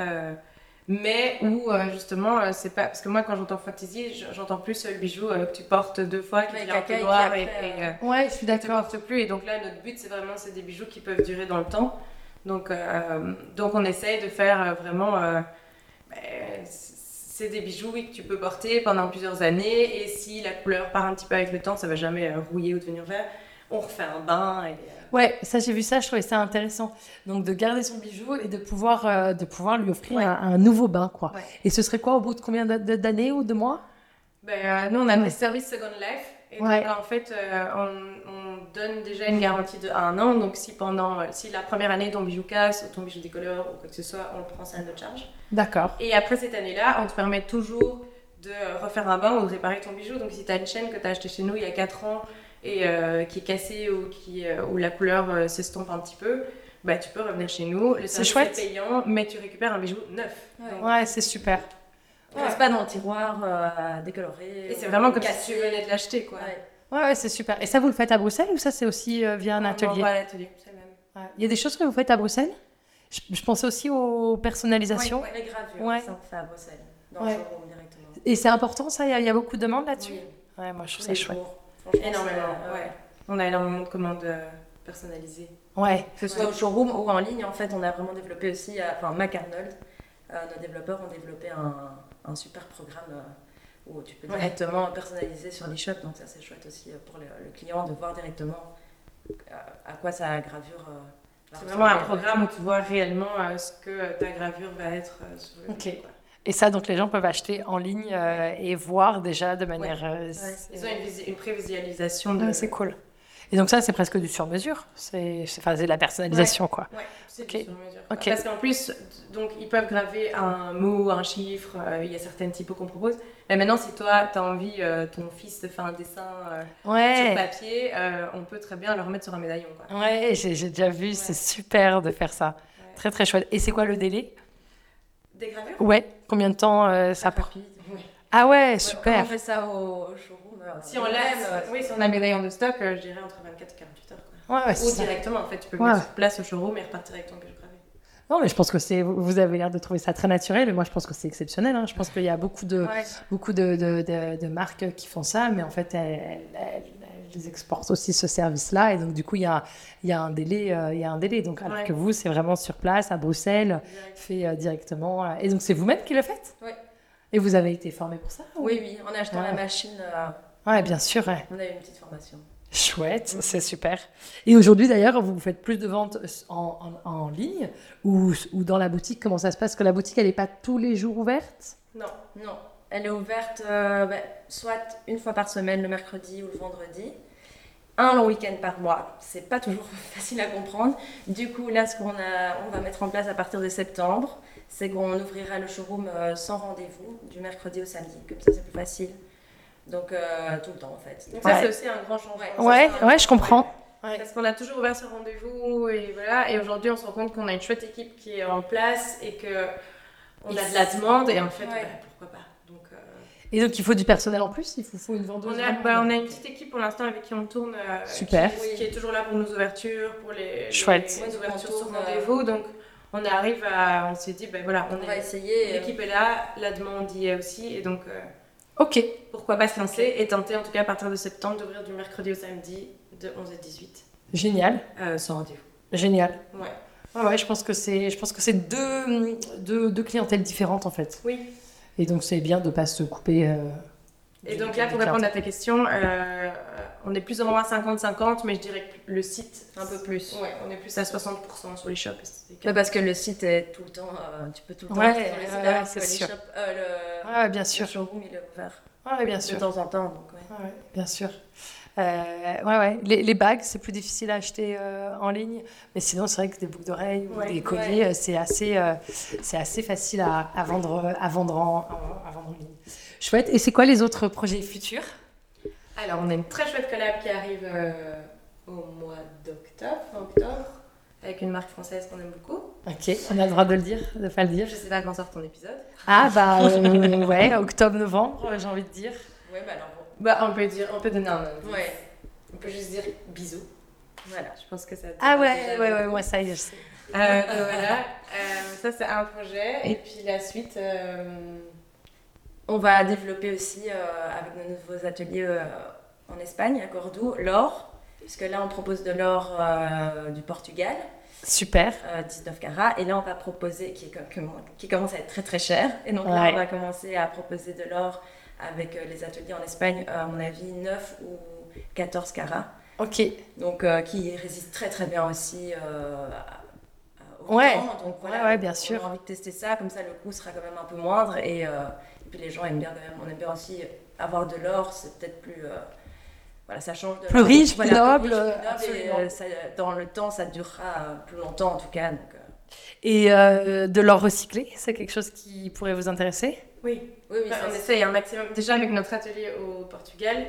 Mais où justement, c'est pas. Parce que moi, quand j'entends fantaisie, j'entends plus le bijou que tu portes 2 fois, qui devient un peu noir je suis d'accord. Tu portes plus. Et donc là, notre but, c'est des bijoux qui peuvent durer dans le temps. Donc on essaye de faire vraiment. C'est des bijoux que tu peux porter pendant plusieurs années. Et si la couleur part un petit peu avec le temps, ça va jamais rouiller ou devenir vert. On refait un bain. Ouais, ça j'ai vu ça, je trouvais ça intéressant. Donc de garder son bijou et de pouvoir lui offrir un nouveau bain, quoi. Ouais. Et ce serait quoi au bout de combien d'années ou de mois? Nous on a des services Second Life. Et donc, en fait, on donne déjà une garantie de 1 an. Donc si la première année ton bijou casse ou ton bijou décolore ou quoi que ce soit, on le prend, c'est à notre charge. D'accord. Et après cette année-là, on te permet toujours de refaire un bain ou de réparer ton bijou. Donc si tu as une chaîne que tu as achetée chez nous il y a 4 ans et qui est cassée ou la couleur s'estompe un petit peu, tu peux revenir chez nous. Le service est payant, mais tu récupères un bijou neuf. Ouais, c'est super. On reste pas dans le tiroir décoloré. Et c'est vraiment comme si tu venais de l'acheter, quoi. Ouais, c'est super. Et ça, vous le faites à Bruxelles ou ça, c'est aussi via un atelier? On va à l'atelier, c'est le même. Il y a des choses que vous faites à Bruxelles? Je pensais aussi aux personnalisations. Oui, les gravures, ça on fait à Bruxelles, dans le showroom directement. Et c'est important, ça? Il y a beaucoup de demandes là-dessus? Oui. Ouais, moi, je trouve ça chouette. Énormément, On a énormément de commandes personnalisées. Ouais. Que ce soit au showroom ou en ligne, en fait, on a vraiment développé aussi, Mac Arnold, nos développeurs ont développé un super programme où tu peux directement personnaliser sur l'e-shop, donc ça c'est chouette aussi pour le client de voir directement à quoi sa gravure c'est vraiment un programme où tu vois réellement ce que ta gravure va être sur le Ok. Et ça, donc les gens peuvent acheter en ligne et voir déjà de manière... Ils ont une prévisualisation de... c'est cool. Et donc ça, c'est presque du sur-mesure. C'est de la personnalisation, quoi. Ouais, c'est du sur-mesure. Okay. Parce qu'en plus, donc, ils peuvent graver un mot, un chiffre, il y a certaines typos qu'on propose. Mais maintenant, si toi, tu as envie, ton fils te fait un dessin sur papier, on peut très bien le remettre sur un médaillon, quoi. Ouais, j'ai déjà vu, c'est super de faire ça. Ouais. Très, très chouette. Et c'est quoi le délai? Des gravures? Ouais, combien de temps ça prend? Ah ouais, super. On fait ça au showroom. Si on a un médaillon de stock, je dirais entre 24 et 48 heures. Quoi. Ou directement, en fait, tu peux venir sur place au showroom et repartir avec ton bijou gravé. Non, mais je pense que vous avez l'air de trouver ça très naturel. Et moi, je pense que c'est exceptionnel. Hein. Je pense qu'il y a beaucoup de marques qui font ça, mais en fait, elles exportent aussi ce service-là. Et donc, du coup, il y a un délai. Donc, alors que vous, c'est vraiment sur place, à Bruxelles, fait directement. Et donc, c'est vous-même qui le faites? Oui. Et vous avez été formé pour ça? Oui, on a acheté la machine. Ouais, bien sûr. Ouais. On a eu une petite formation. Chouette, c'est super. Et aujourd'hui, d'ailleurs, vous faites plus de ventes en ligne ou dans la boutique? Comment ça se passe? Que la boutique, elle n'est pas tous les jours ouverte? Non. Elle est ouverte soit une fois par semaine, le mercredi ou le vendredi. un long week-end par mois. C'est pas toujours facile à comprendre. Du coup, là, on va mettre en place à partir de septembre, c'est qu'on ouvrira le showroom sans rendez-vous, du mercredi au samedi. Comme ça, c'est plus facile. Donc, tout le temps, en fait. Donc ça, c'est aussi un grand changement. Ouais, je comprends. Ouais. Parce qu'on a toujours ouvert ce rendez-vous et voilà. Et aujourd'hui, on se rend compte qu'on a une chouette équipe qui est en place et qu'on a de la demande. Et en fait, pourquoi pas. Donc, et donc, il faut du personnel en plus. Il faut une vendeuse. On a une petite équipe pour l'instant avec qui on tourne. Super. Qui est toujours là pour nos ouvertures, pour les ouvertures sur rendez-vous. Donc, on s'est dit, on va essayer. L'équipe est là, la demande y est aussi. Et donc, ok. Pourquoi pas se lancer et tenter, en tout cas, à partir de septembre, d'ouvrir du mercredi au samedi de 11 à 18. Génial. Sans rendez-vous. Génial. Ouais. Ouais, je pense que c'est deux clientèles différentes, en fait. Oui. Et donc, c'est bien de ne pas se couper. Et donc là, pour répondre à ta question, on est plus ou moins à 50-50, mais je dirais que le site, un peu plus. Ouais, on est plus à 60% sur les shops. Parce que le site est tout le temps, tu peux tout le temps sur le site, c'est sûr. Bien sûr. Le showroom, il est ouvert. Ouais, bien sûr. De temps en temps, donc ouais, bien sûr. Les bagues, c'est plus difficile à acheter en ligne, mais sinon c'est vrai que des boucles d'oreilles ou des colliers, c'est assez facile à vendre en ligne. Chouette. Et c'est quoi les autres projets futurs? Alors, on a une très chouette collab qui arrive au mois octobre, avec une marque française qu'on aime beaucoup. Ok, on a le droit de le dire, de pas le dire. Je sais pas quand sort ton épisode. Ah octobre-novembre, j'ai envie de dire. Ouais, alors on peut donner un indice. Ouais. On peut juste dire bisous. Voilà, je pense que ça. Moi ça y est, je sais. Voilà, ça c'est un projet. Et puis la suite, on va développer aussi avec nos nouveaux ateliers en Espagne, à Cordoue, l'or. Puisque là on propose de l'or du Portugal. Super. 19 carats. Et là on va proposer, qui commence à être très très cher. Et donc là on va commencer à proposer de l'or avec les ateliers en Espagne, à mon avis 9 ou 14 carats. Ok. Donc qui résiste très très bien aussi au temps. Donc voilà, bien sûr. On a envie de tester ça, comme ça le coût sera quand même un peu moindre. Et puis les gens aiment bien quand même. On aime bien aussi avoir de l'or, c'est peut-être plus... ça change de... Plus riche, plus noble. Et dans le temps, ça durera plus longtemps en tout cas. Donc, Et de l'or recyclé, c'est quelque chose qui pourrait vous intéresser? Oui, on essaye un maximum. Déjà avec notre atelier au Portugal,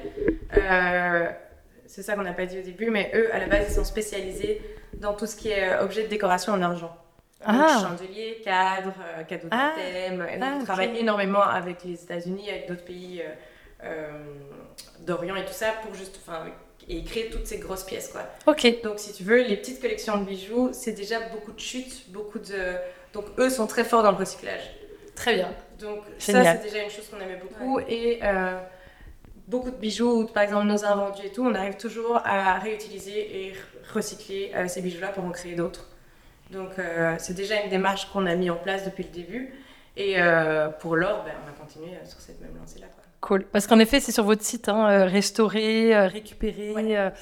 c'est ça qu'on n'a pas dit au début, mais eux, à la base, ils sont spécialisés dans tout ce qui est objet de décoration en argent. Donc, chandeliers, cadres, cadeaux de thème. Ils travaillent énormément avec les États-Unis, avec d'autres pays d'Orient et tout ça, pour et créer toutes ces grosses pièces, quoi. Ok. Donc, si tu veux, les petites collections de bijoux, c'est déjà beaucoup de chutes, donc, eux sont très forts dans le recyclage. Très bien. Donc, Génial. Ça, c'est déjà une chose qu'on aimait beaucoup. Ouais. Et beaucoup de bijoux, par exemple nos invendus et tout, on arrive toujours à réutiliser et recycler ces bijoux-là pour en créer d'autres. Donc, c'est déjà une démarche qu'on a mis en place depuis le début. Et pour l'or, on va continuer sur cette même lancée-là, quoi. Cool. Parce qu'en effet, c'est sur votre site, restaurer, récupérer.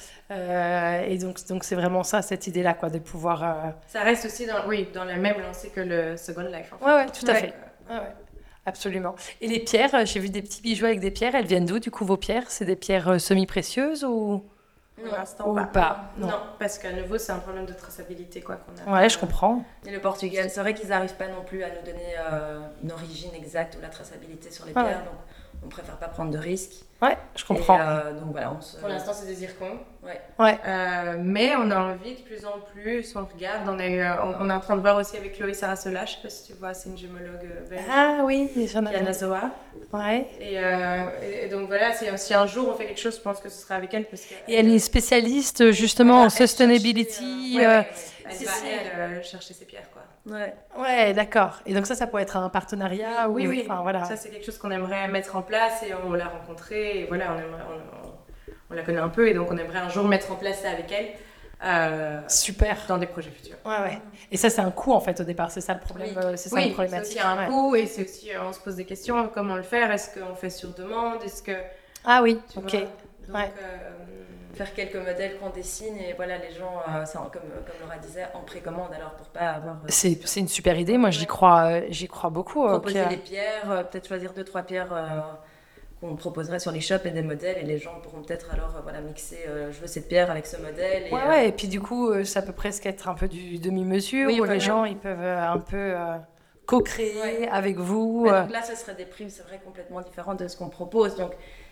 Et donc, c'est vraiment ça, cette idée-là, quoi, de pouvoir... Ça reste aussi dans la même lancée que le Second Life. En fait. Ouais, tout à fait. Absolument. Et les pierres, j'ai vu des petits bijoux avec des pierres. Elles viennent d'où, du coup, vos pierres? C'est des pierres semi-précieuses ou... Pour l'instant, pas. Non, parce qu'à nouveau, c'est un problème de traçabilité, quoi, qu'on a. Ouais, je comprends. Et le Portugal, c'est vrai qu'ils n'arrivent pas non plus à nous donner une origine exacte ou la traçabilité sur les pierres, donc on préfère pas prendre de risques. Ouais, je comprends. Et, donc voilà, pour l'instant, c'est des zircons. Ouais. Mais on a envie de plus en plus, on regarde, on est en train de voir aussi avec Chloé Sarasola, je sais pas si tu vois, c'est une gémologue belge. Ah oui, j'en ai Yanazoa. Ouais. Et donc voilà, si un jour on fait quelque chose, je pense que ce sera avec elle. Et elle est spécialiste justement en sustainability. Elle va chercher ses pierres, quoi. Ouais, d'accord. Et donc ça pourrait être un partenariat. Oui. Enfin, voilà. Ça, c'est quelque chose qu'on aimerait mettre en place et on l'a rencontrée. Et voilà, on la connaît un peu et donc on aimerait un jour mettre en place ça avec elle. Super. Dans des projets futurs. Ouais. Et ça, c'est un coût en fait au départ, c'est ça le problème. C'est ça la problématique. C'est aussi un coût et c'est aussi, on se pose des questions, comment le faire? Est-ce qu'on fait sur demande? Ah oui, ok. Donc, faire quelques modèles qu'on dessine et voilà, les gens, comme Laura disait, en précommande alors pour pas avoir... C'est une super idée, moi j'y crois beaucoup. Proposer des pierres, peut-être choisir 2-3 pierres qu'on proposerait sur l'e-shop et des modèles, et les gens pourront peut-être alors mixer je veux cette pierre avec ce modèle. Et puis du coup ça peut presque être un peu du demi-mesure où les gens ils peuvent un peu co-créer avec vous. Donc là ce serait des prix, c'est vrai, complètement différents de ce qu'on propose. Donc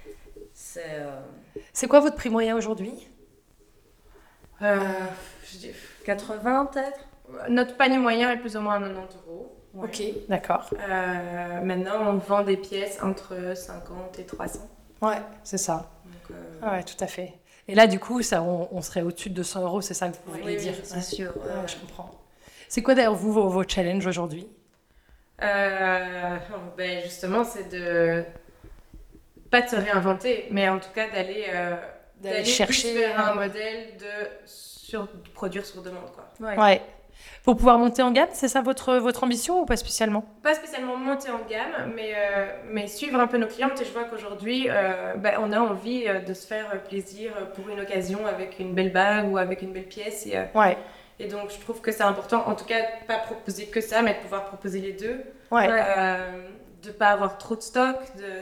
c'est quoi votre prix moyen aujourd'hui? Je dis 80 peut-être. Notre panier moyen est plus ou moins à 90 €. Ouais. Ok, d'accord. Maintenant, on vend des pièces entre 50 et 300. Ouais, c'est ça. Donc, ouais, tout à fait. Et là, du coup, ça, on serait au-dessus de 200 €, c'est ça que vous voulez dire? Oui, c'est sûr. Ouais, je comprends. C'est quoi d'ailleurs, vous, vos challenges aujourd'hui? Justement, c'est de pas de se réinventer, mais en tout cas d'aller chercher vers un modèle de produire sur demande, quoi. Ouais. Pour pouvoir monter en gamme, c'est ça votre ambition ou pas spécialement? Pas spécialement monter en gamme, mais suivre un peu nos clientes. Et je vois qu'aujourd'hui, on a envie de se faire plaisir pour une occasion avec une belle bague ou avec une belle pièce. Et donc, je trouve que c'est important, en tout cas, pas proposer que ça, mais de pouvoir proposer les deux. Ouais. De pas avoir trop de stock,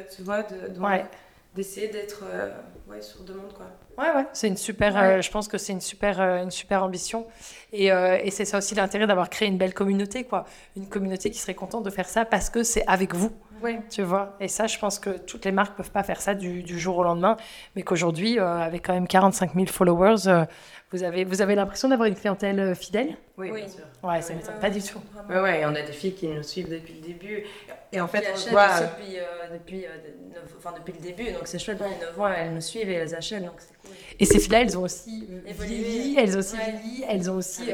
d'essayer d'être sur demande, quoi. Ouais, c'est une super. Je pense que c'est une super ambition. Et c'est ça aussi l'intérêt d'avoir créé une belle communauté, quoi. Une communauté qui serait contente de faire ça parce que c'est avec vous. Ouais. Tu vois. Et ça, je pense que toutes les marques peuvent pas faire ça du jour au lendemain, mais qu'aujourd'hui, avec quand même 45 000 followers, vous avez l'impression d'avoir une clientèle fidèle. Oui, bien sûr. Ouais, ça m'étonne pas du tout. Ouais, on a des filles qui nous suivent depuis le début. Et en fait, on voit depuis le début, donc c'est chouette, 9 ans, elles nous suivent et elles achètent, donc c'est cool. Et ces filles-là, elles ont aussi vieilli, elles ont aussi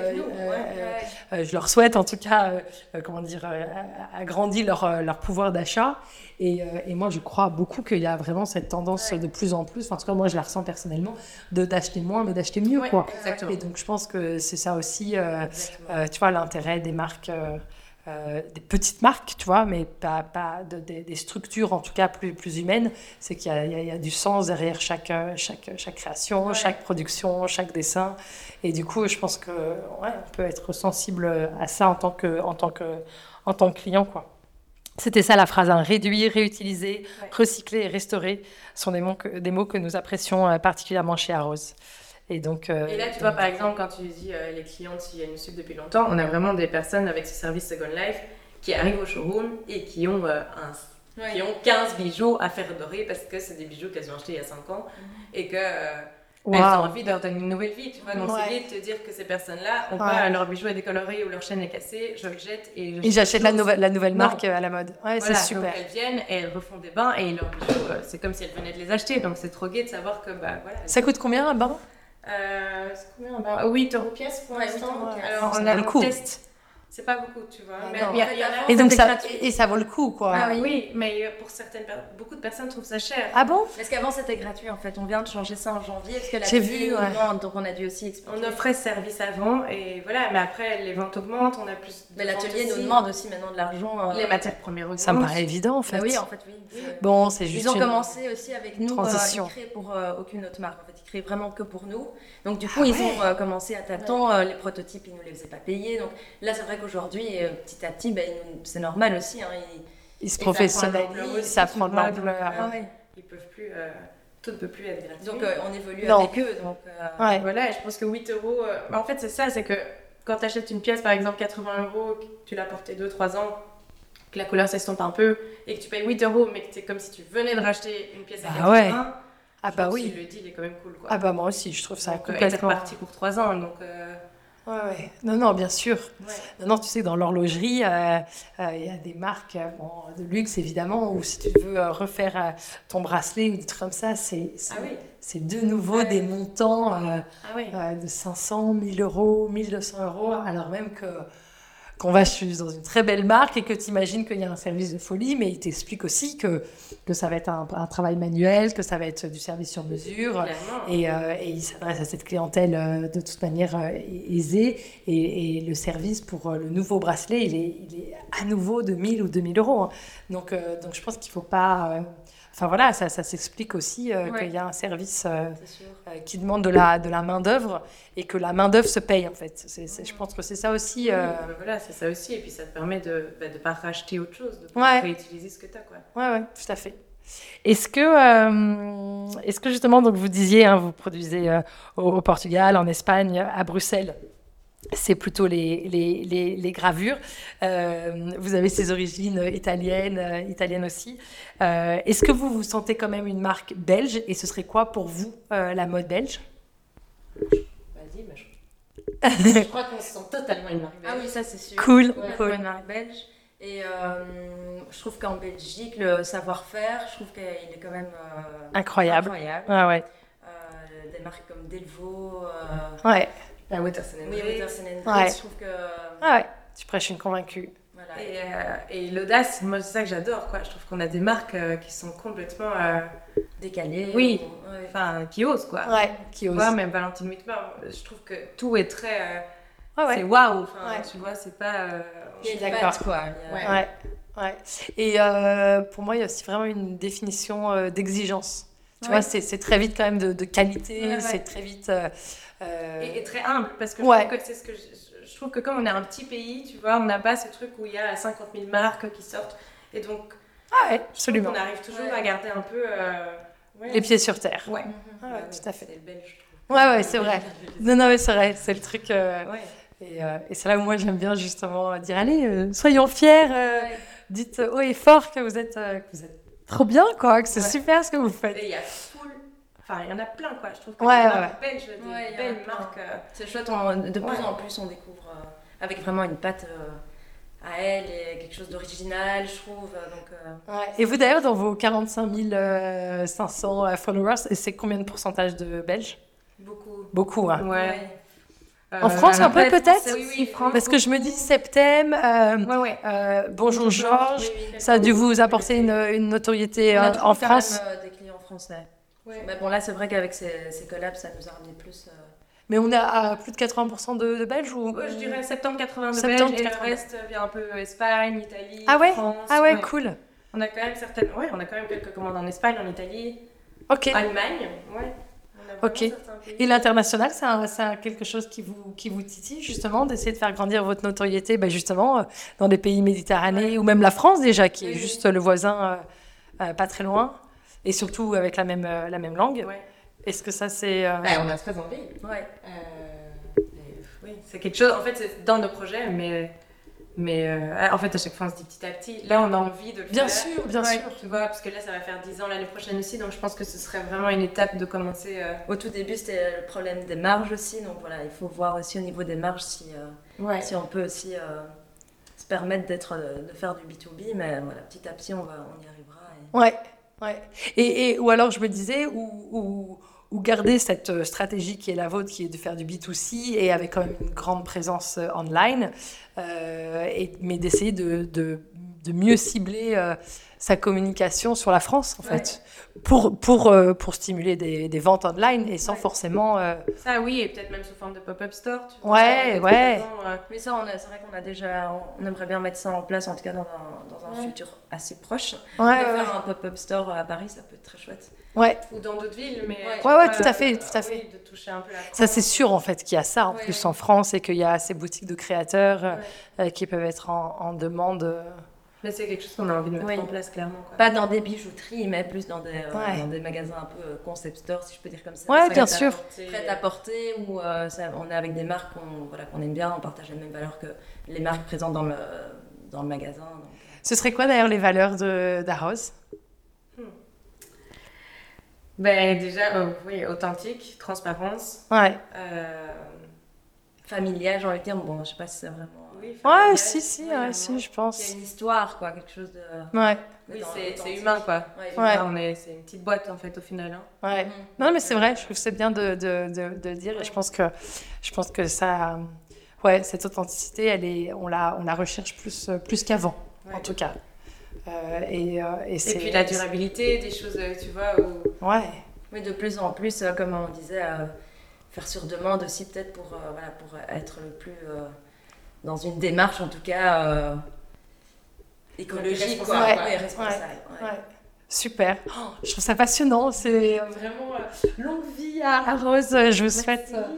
je leur souhaite en tout cas, agrandi leur pouvoir d'achat. Et moi, je crois beaucoup qu'il y a vraiment cette tendance de plus en plus, en tout cas moi je la ressens personnellement, d'acheter moins mais d'acheter mieux, quoi. Exactement. Et donc je pense que c'est ça aussi, tu vois, l'intérêt des marques. Des petites marques, tu vois, mais pas des structures en tout cas plus humaines, c'est qu'il y a du sens derrière chaque création, chaque production, chaque dessin, et du coup je pense que on peut être sensible à ça en tant que client, quoi. C'était ça la phrase, hein. Réduire, réutiliser, recycler et restaurer sont des mots que nous apprécions particulièrement chez Arose. Et là, tu vois, par exemple, quand tu dis les clientes, si elles nous suivent depuis longtemps, on a vraiment des personnes avec ce service Second Life qui arrivent au showroom et qui ont 15 bijoux à faire dorer parce que c'est des bijoux qu'elles ont achetés il y a 5 ans et que elles ont envie de leur donner une nouvelle vie, tu vois. Donc c'est lié de te dire que ces personnes-là ont pas leur bijou est décoloré ou leur chaîne est cassée, je le jette et j'achète la nouvelle marque à la mode. Ouais, voilà, c'est super. Donc elles viennent et elles refont des bains et leurs bijoux, c'est comme si elles venaient de les acheter. Donc c'est trop gai de savoir que Ça coûte combien un bain? C'est combien? 8 € pièce pour l'instant. Alors on a le test. C'est pas beaucoup, tu vois. Et donc ça vaut le coup, quoi. Ah oui, mais pour beaucoup de personnes trouvent ça cher. Ah bon? Parce qu'avant c'était gratuit en fait. On vient de changer ça en janvier parce que j'ai vu, donc on a dû aussi expliquer. On offrait ce service avant et voilà, mais après les ventes augmentent, on a plus. Mais l'atelier nous demande aussi maintenant de l'argent. Les matières premières augmentent. Ça me paraît évident en fait. Bah oui, en fait oui. Bon, c'est juste. Ils ont commencé aussi avec nous. Transition. Ils créent pour aucune autre marque. En fait, ils créent vraiment que pour nous. Donc du coup, ils ont commencé à tâtons. Les prototypes, ils nous les faisaient pas payer. Donc là, c'est vrai qu'aujourd'hui, petit à petit, c'est normal aussi. Hein, ils se professionnalisent, ça prend de l'ampleur. Ils peuvent plus. Tout ne peut plus être gratuit. Donc on évolue avec eux. Donc, voilà, et je pense que 8 €. En fait, c'est ça, c'est que quand tu achètes une pièce, par exemple 80 €, que tu l'as portée 2-3 ans, que la couleur s'estompe un peu, et que tu payes 8 €, mais que c'est comme si tu venais de racheter une pièce à 80 €. Ah bah oui. Le deal est quand même cool, quoi. Ah bah moi aussi, je trouve ça complètement. Et c'est parti pour 3 ans, donc. Ouais. Non, bien sûr. Ouais. Non, tu sais, dans l'horlogerie, il y a des marques de luxe, évidemment, où si tu veux refaire ton bracelet ou des trucs comme ça, c'est de nouveau des montants de 500, 1000 €, 1200 €, alors même qu'on va dans une très belle marque et que tu imagines qu'il y a un service de folie, mais il t'explique aussi que ça va être un travail manuel, que ça va être du service sur mesure, et il s'adresse à cette clientèle de toute manière aisée, et le service pour le nouveau bracelet, il est à nouveau de 1000 ou 2000 €. Hein. Donc je pense qu'il ne faut pas... Enfin voilà, ça s'explique aussi qu'il y a un service qui demande de la main-d'œuvre et que la main-d'œuvre se paye en fait. Je pense que c'est ça aussi. Voilà, c'est ça aussi. Et puis ça te permet de ne pas racheter autre chose, de pouvoir réutiliser ce que tu as. Ouais, tout à fait. Est-ce que justement, donc vous disiez, hein, vous produisez au Portugal, en Espagne, à Bruxelles, c'est plutôt les gravures. Vous avez ces origines italiennes aussi. Est-ce que vous vous sentez quand même une marque belge? Et ce serait quoi pour vous la mode belge? Vas-y, je crois qu'on se sent totalement une marque belge. Ah oui, ça c'est sûr. Cool, Ouais, cool. une marque belge. Et je trouve qu'en Belgique, le savoir-faire, je trouve qu'il est quand même Incroyable. Ah ouais. Des marques comme Delvaux, Ouais. La Watterson & oui, Reed. Watterson & Reed, Ouais. je trouve que... Ah ouais. Tu prêches une convaincue. Voilà, Et l'audace, moi c'est ça que j'adore, quoi. Je trouve qu'on a des marques qui sont complètement... décalées. Oui. Ouais. Enfin, qui osent, quoi. Ouais. Qui ose. Ouais, même Valentine Whitmer, je trouve que tout est très... Ah ouais. C'est waouh, enfin, Ouais. tu vois, c'est pas... Il y a une D'accord. patte, quoi. Ouais. Ouais, ouais. Et pour moi, il y a aussi vraiment une définition d'exigence. Tu vois, c'est très vite quand même de qualité, Ouais. c'est très vite... Et très humble, parce que Ouais. je trouve que c'est ce que je trouve que comme on est un petit pays, tu vois, on n'a pas ce truc où il y a 50 000 marques qui sortent. Et donc, Ah ouais, absolument. on arrive toujours Ouais. à garder un peu... ouais. Les pieds sur terre. Ouais. Ah ouais, tout à fait. C'est le belge, je trouve. Ouais, ouais, c'est vrai. Non, non, mais c'est vrai, c'est le truc... Ouais. Et c'est là où moi, j'aime bien justement dire, allez, soyons fiers, dites haut et fort que vous êtes trop bien, quoi, que c'est Ouais. super ce que vous faites. Et il y a full... Enfin, il y en a plein, quoi. Je trouve que Ouais, les ouais, marques belges, des Ouais, il y en a belles plein. marques... C'est chouette, de plus en plus on découvre avec vraiment une patte à elle et quelque chose d'original, je trouve. Donc, Ouais. Et vous d'ailleurs, dans vos 45 500 followers, c'est combien de pourcentage de Belges? beaucoup. Beaucoup, hein. Ouais. En France, un peu, après, peut-être? Oui, France. Parce que je me dis Septem, Ouais, ouais. Bonjour Georges, Oui, oui. ça a dû vous apporter une notoriété On a en toujours quand France. même, des clients français. Ouais. Mais bon, là, c'est vrai qu'avec ces collabs, ça nous a ramené plus. Mais on est à plus de 80% de Belges ou... Ouais, je dirais 70-80 de 70, Belges et 80. le reste vient un peu Espagne, Italie, Ah ouais? France. Ah ouais, cool. On a quand même on a quand même quelques commandes en Espagne, en Italie, Ok. Allemagne, ouais. On a vraiment Ok. certains pays. Et l'international, c'est quelque chose qui vous titille justement, d'essayer de faire grandir votre notoriété, justement, dans des pays méditerranéens ou même la France déjà, qui est Oui. juste le voisin pas très loin, et surtout avec la même langue. Ouais. Est-ce que ça c'est... On a très envie. Ouais. Oui, c'est quelque chose, en fait, c'est dans nos projets, mais en fait, à chaque fois, on se dit petit à petit. Là, on a envie de le Bien faire. sûr, bien Ouais, sûr. Tu vois, parce que là, ça va faire 10 ans l'année prochaine aussi, donc je pense que ce serait vraiment une étape de commencer. Au tout début, c'était le problème des marges aussi. Donc voilà, il faut voir aussi au niveau des marges si on peut aussi se permettre de faire du B2B. Mais voilà, petit à petit, on y arrivera. Ouais, ouais. Et ou alors je me disais, ou garder cette stratégie qui est la vôtre, qui est de faire du B2C et avec quand même une grande présence online, mais d'essayer de mieux cibler sa communication sur la France, en fait, pour stimuler des ventes online et sans forcément... Ça, oui, et peut-être même sous forme de pop-up store. Tu vois, Ouais, avec ouais. des gens, Mais ça, c'est vrai qu'on a déjà, on aimerait bien mettre ça en place, en tout cas dans un futur assez proche. Ouais, De ouais, faire un pop-up store à Paris, ça peut être très chouette. ouais. ou dans d'autres villes, mais... Ouais, tout à fait, tout à fait. Oui, de toucher un peu la France. Ça, c'est sûr, en fait, qu'il y a ça, en Ouais, plus, ouais. en France, et qu'il y a ces boutiques de créateurs qui peuvent être en demande. Mais c'est quelque chose qu'on a envie de mettre Oui. en place, clairement. Quoi. Pas dans des bijouteries, mais plus dans des magasins un peu concept store, si je peux dire comme ça. Ouais, Ça bien va être sûr. Prêt à porter, où on est avec des marques qu'on aime bien, on partage les mêmes valeurs que les marques présentes dans le magasin. Donc. Ce serait quoi, d'ailleurs, les valeurs d'Arros? Ben, déjà, oui, authentique, transparence. Ouais. Familial, j'ai envie de dire, bon, je sais pas si c'est vraiment... Oui, Ouais, familial, si, vraiment. si, je Il y a pense. une histoire, quoi, quelque chose de... Ouais, Oui, c'est authentique. humain, quoi. Ouais, Ouais. C'est une petite boîte, en fait, au final. Hein. ouais. Mhm. Non, mais c'est vrai, je trouve que c'est bien de le dire, et je pense que ça... Ouais, cette authenticité, on la recherche plus qu'avant, en Ouais. tout cas. Et Et puis la durabilité, des choses, tu vois, où... Ouais. Oui, de plus en plus, comme on disait, faire sur demande aussi, peut-être pour être le plus... dans une démarche, en tout cas, écologique, quoi. Responsable, Ouais, responsable. Ouais. Ouais. Super. Oh, je trouve ça passionnant. C'est vraiment longue vie à Rose. Je vous souhaite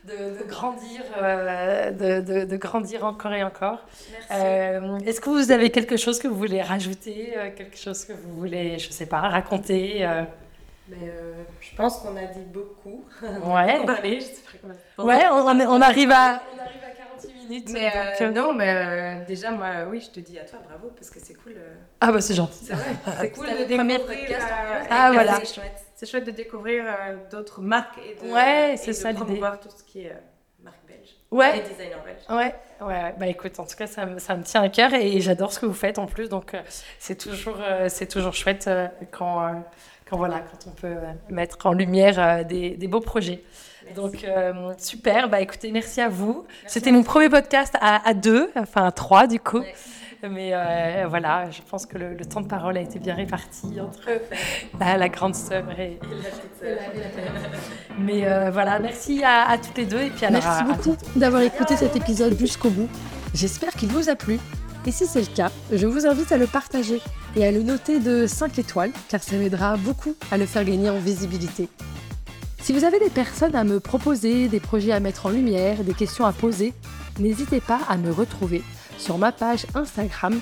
de grandir, de grandir encore et encore. Merci. Est-ce que vous avez quelque chose que vous voulez rajouter, quelque chose que vous voulez, je sais pas, raconter je pense qu'on a dit beaucoup. Ouais. On parlait, je sais pas comment. Ouais, on arrive à 48 minutes. Mais déjà, moi, oui, je te dis à toi, bravo, parce que c'est cool. Ah bah c'est gentil. C'est vrai, c'est cool de premier découvrir. podcast. Voilà. C'est chouette. C'est chouette de découvrir d'autres marques et de promouvoir tout ce qui est marque belge. Ouais. Et designer belge. Ouais. Bah écoute, en tout cas, ça me tient à cœur et j'adore ce que vous faites en plus. Donc c'est toujours chouette quand on peut mettre en lumière des beaux projets. Merci. Donc super, bah écoutez, merci à vous. C'était mon premier podcast à 2, enfin à 3 du coup. Ouais. Mais voilà, je pense que le temps de parole a été bien réparti entre la grande sœur et la petite sœur. Mais voilà, merci à toutes les deux. Et puis merci beaucoup d'avoir écouté cet épisode jusqu'au bout. J'espère qu'il vous a plu. Et si c'est le cas, je vous invite à le partager et à le noter de 5 étoiles, car ça m'aidera beaucoup à le faire gagner en visibilité. Si vous avez des personnes à me proposer, des projets à mettre en lumière, des questions à poser, n'hésitez pas à me retrouver sur ma page Instagram,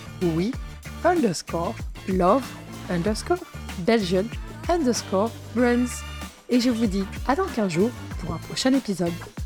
@love_Belgian_brands. Et je vous dis à dans 15 jours pour un prochain épisode.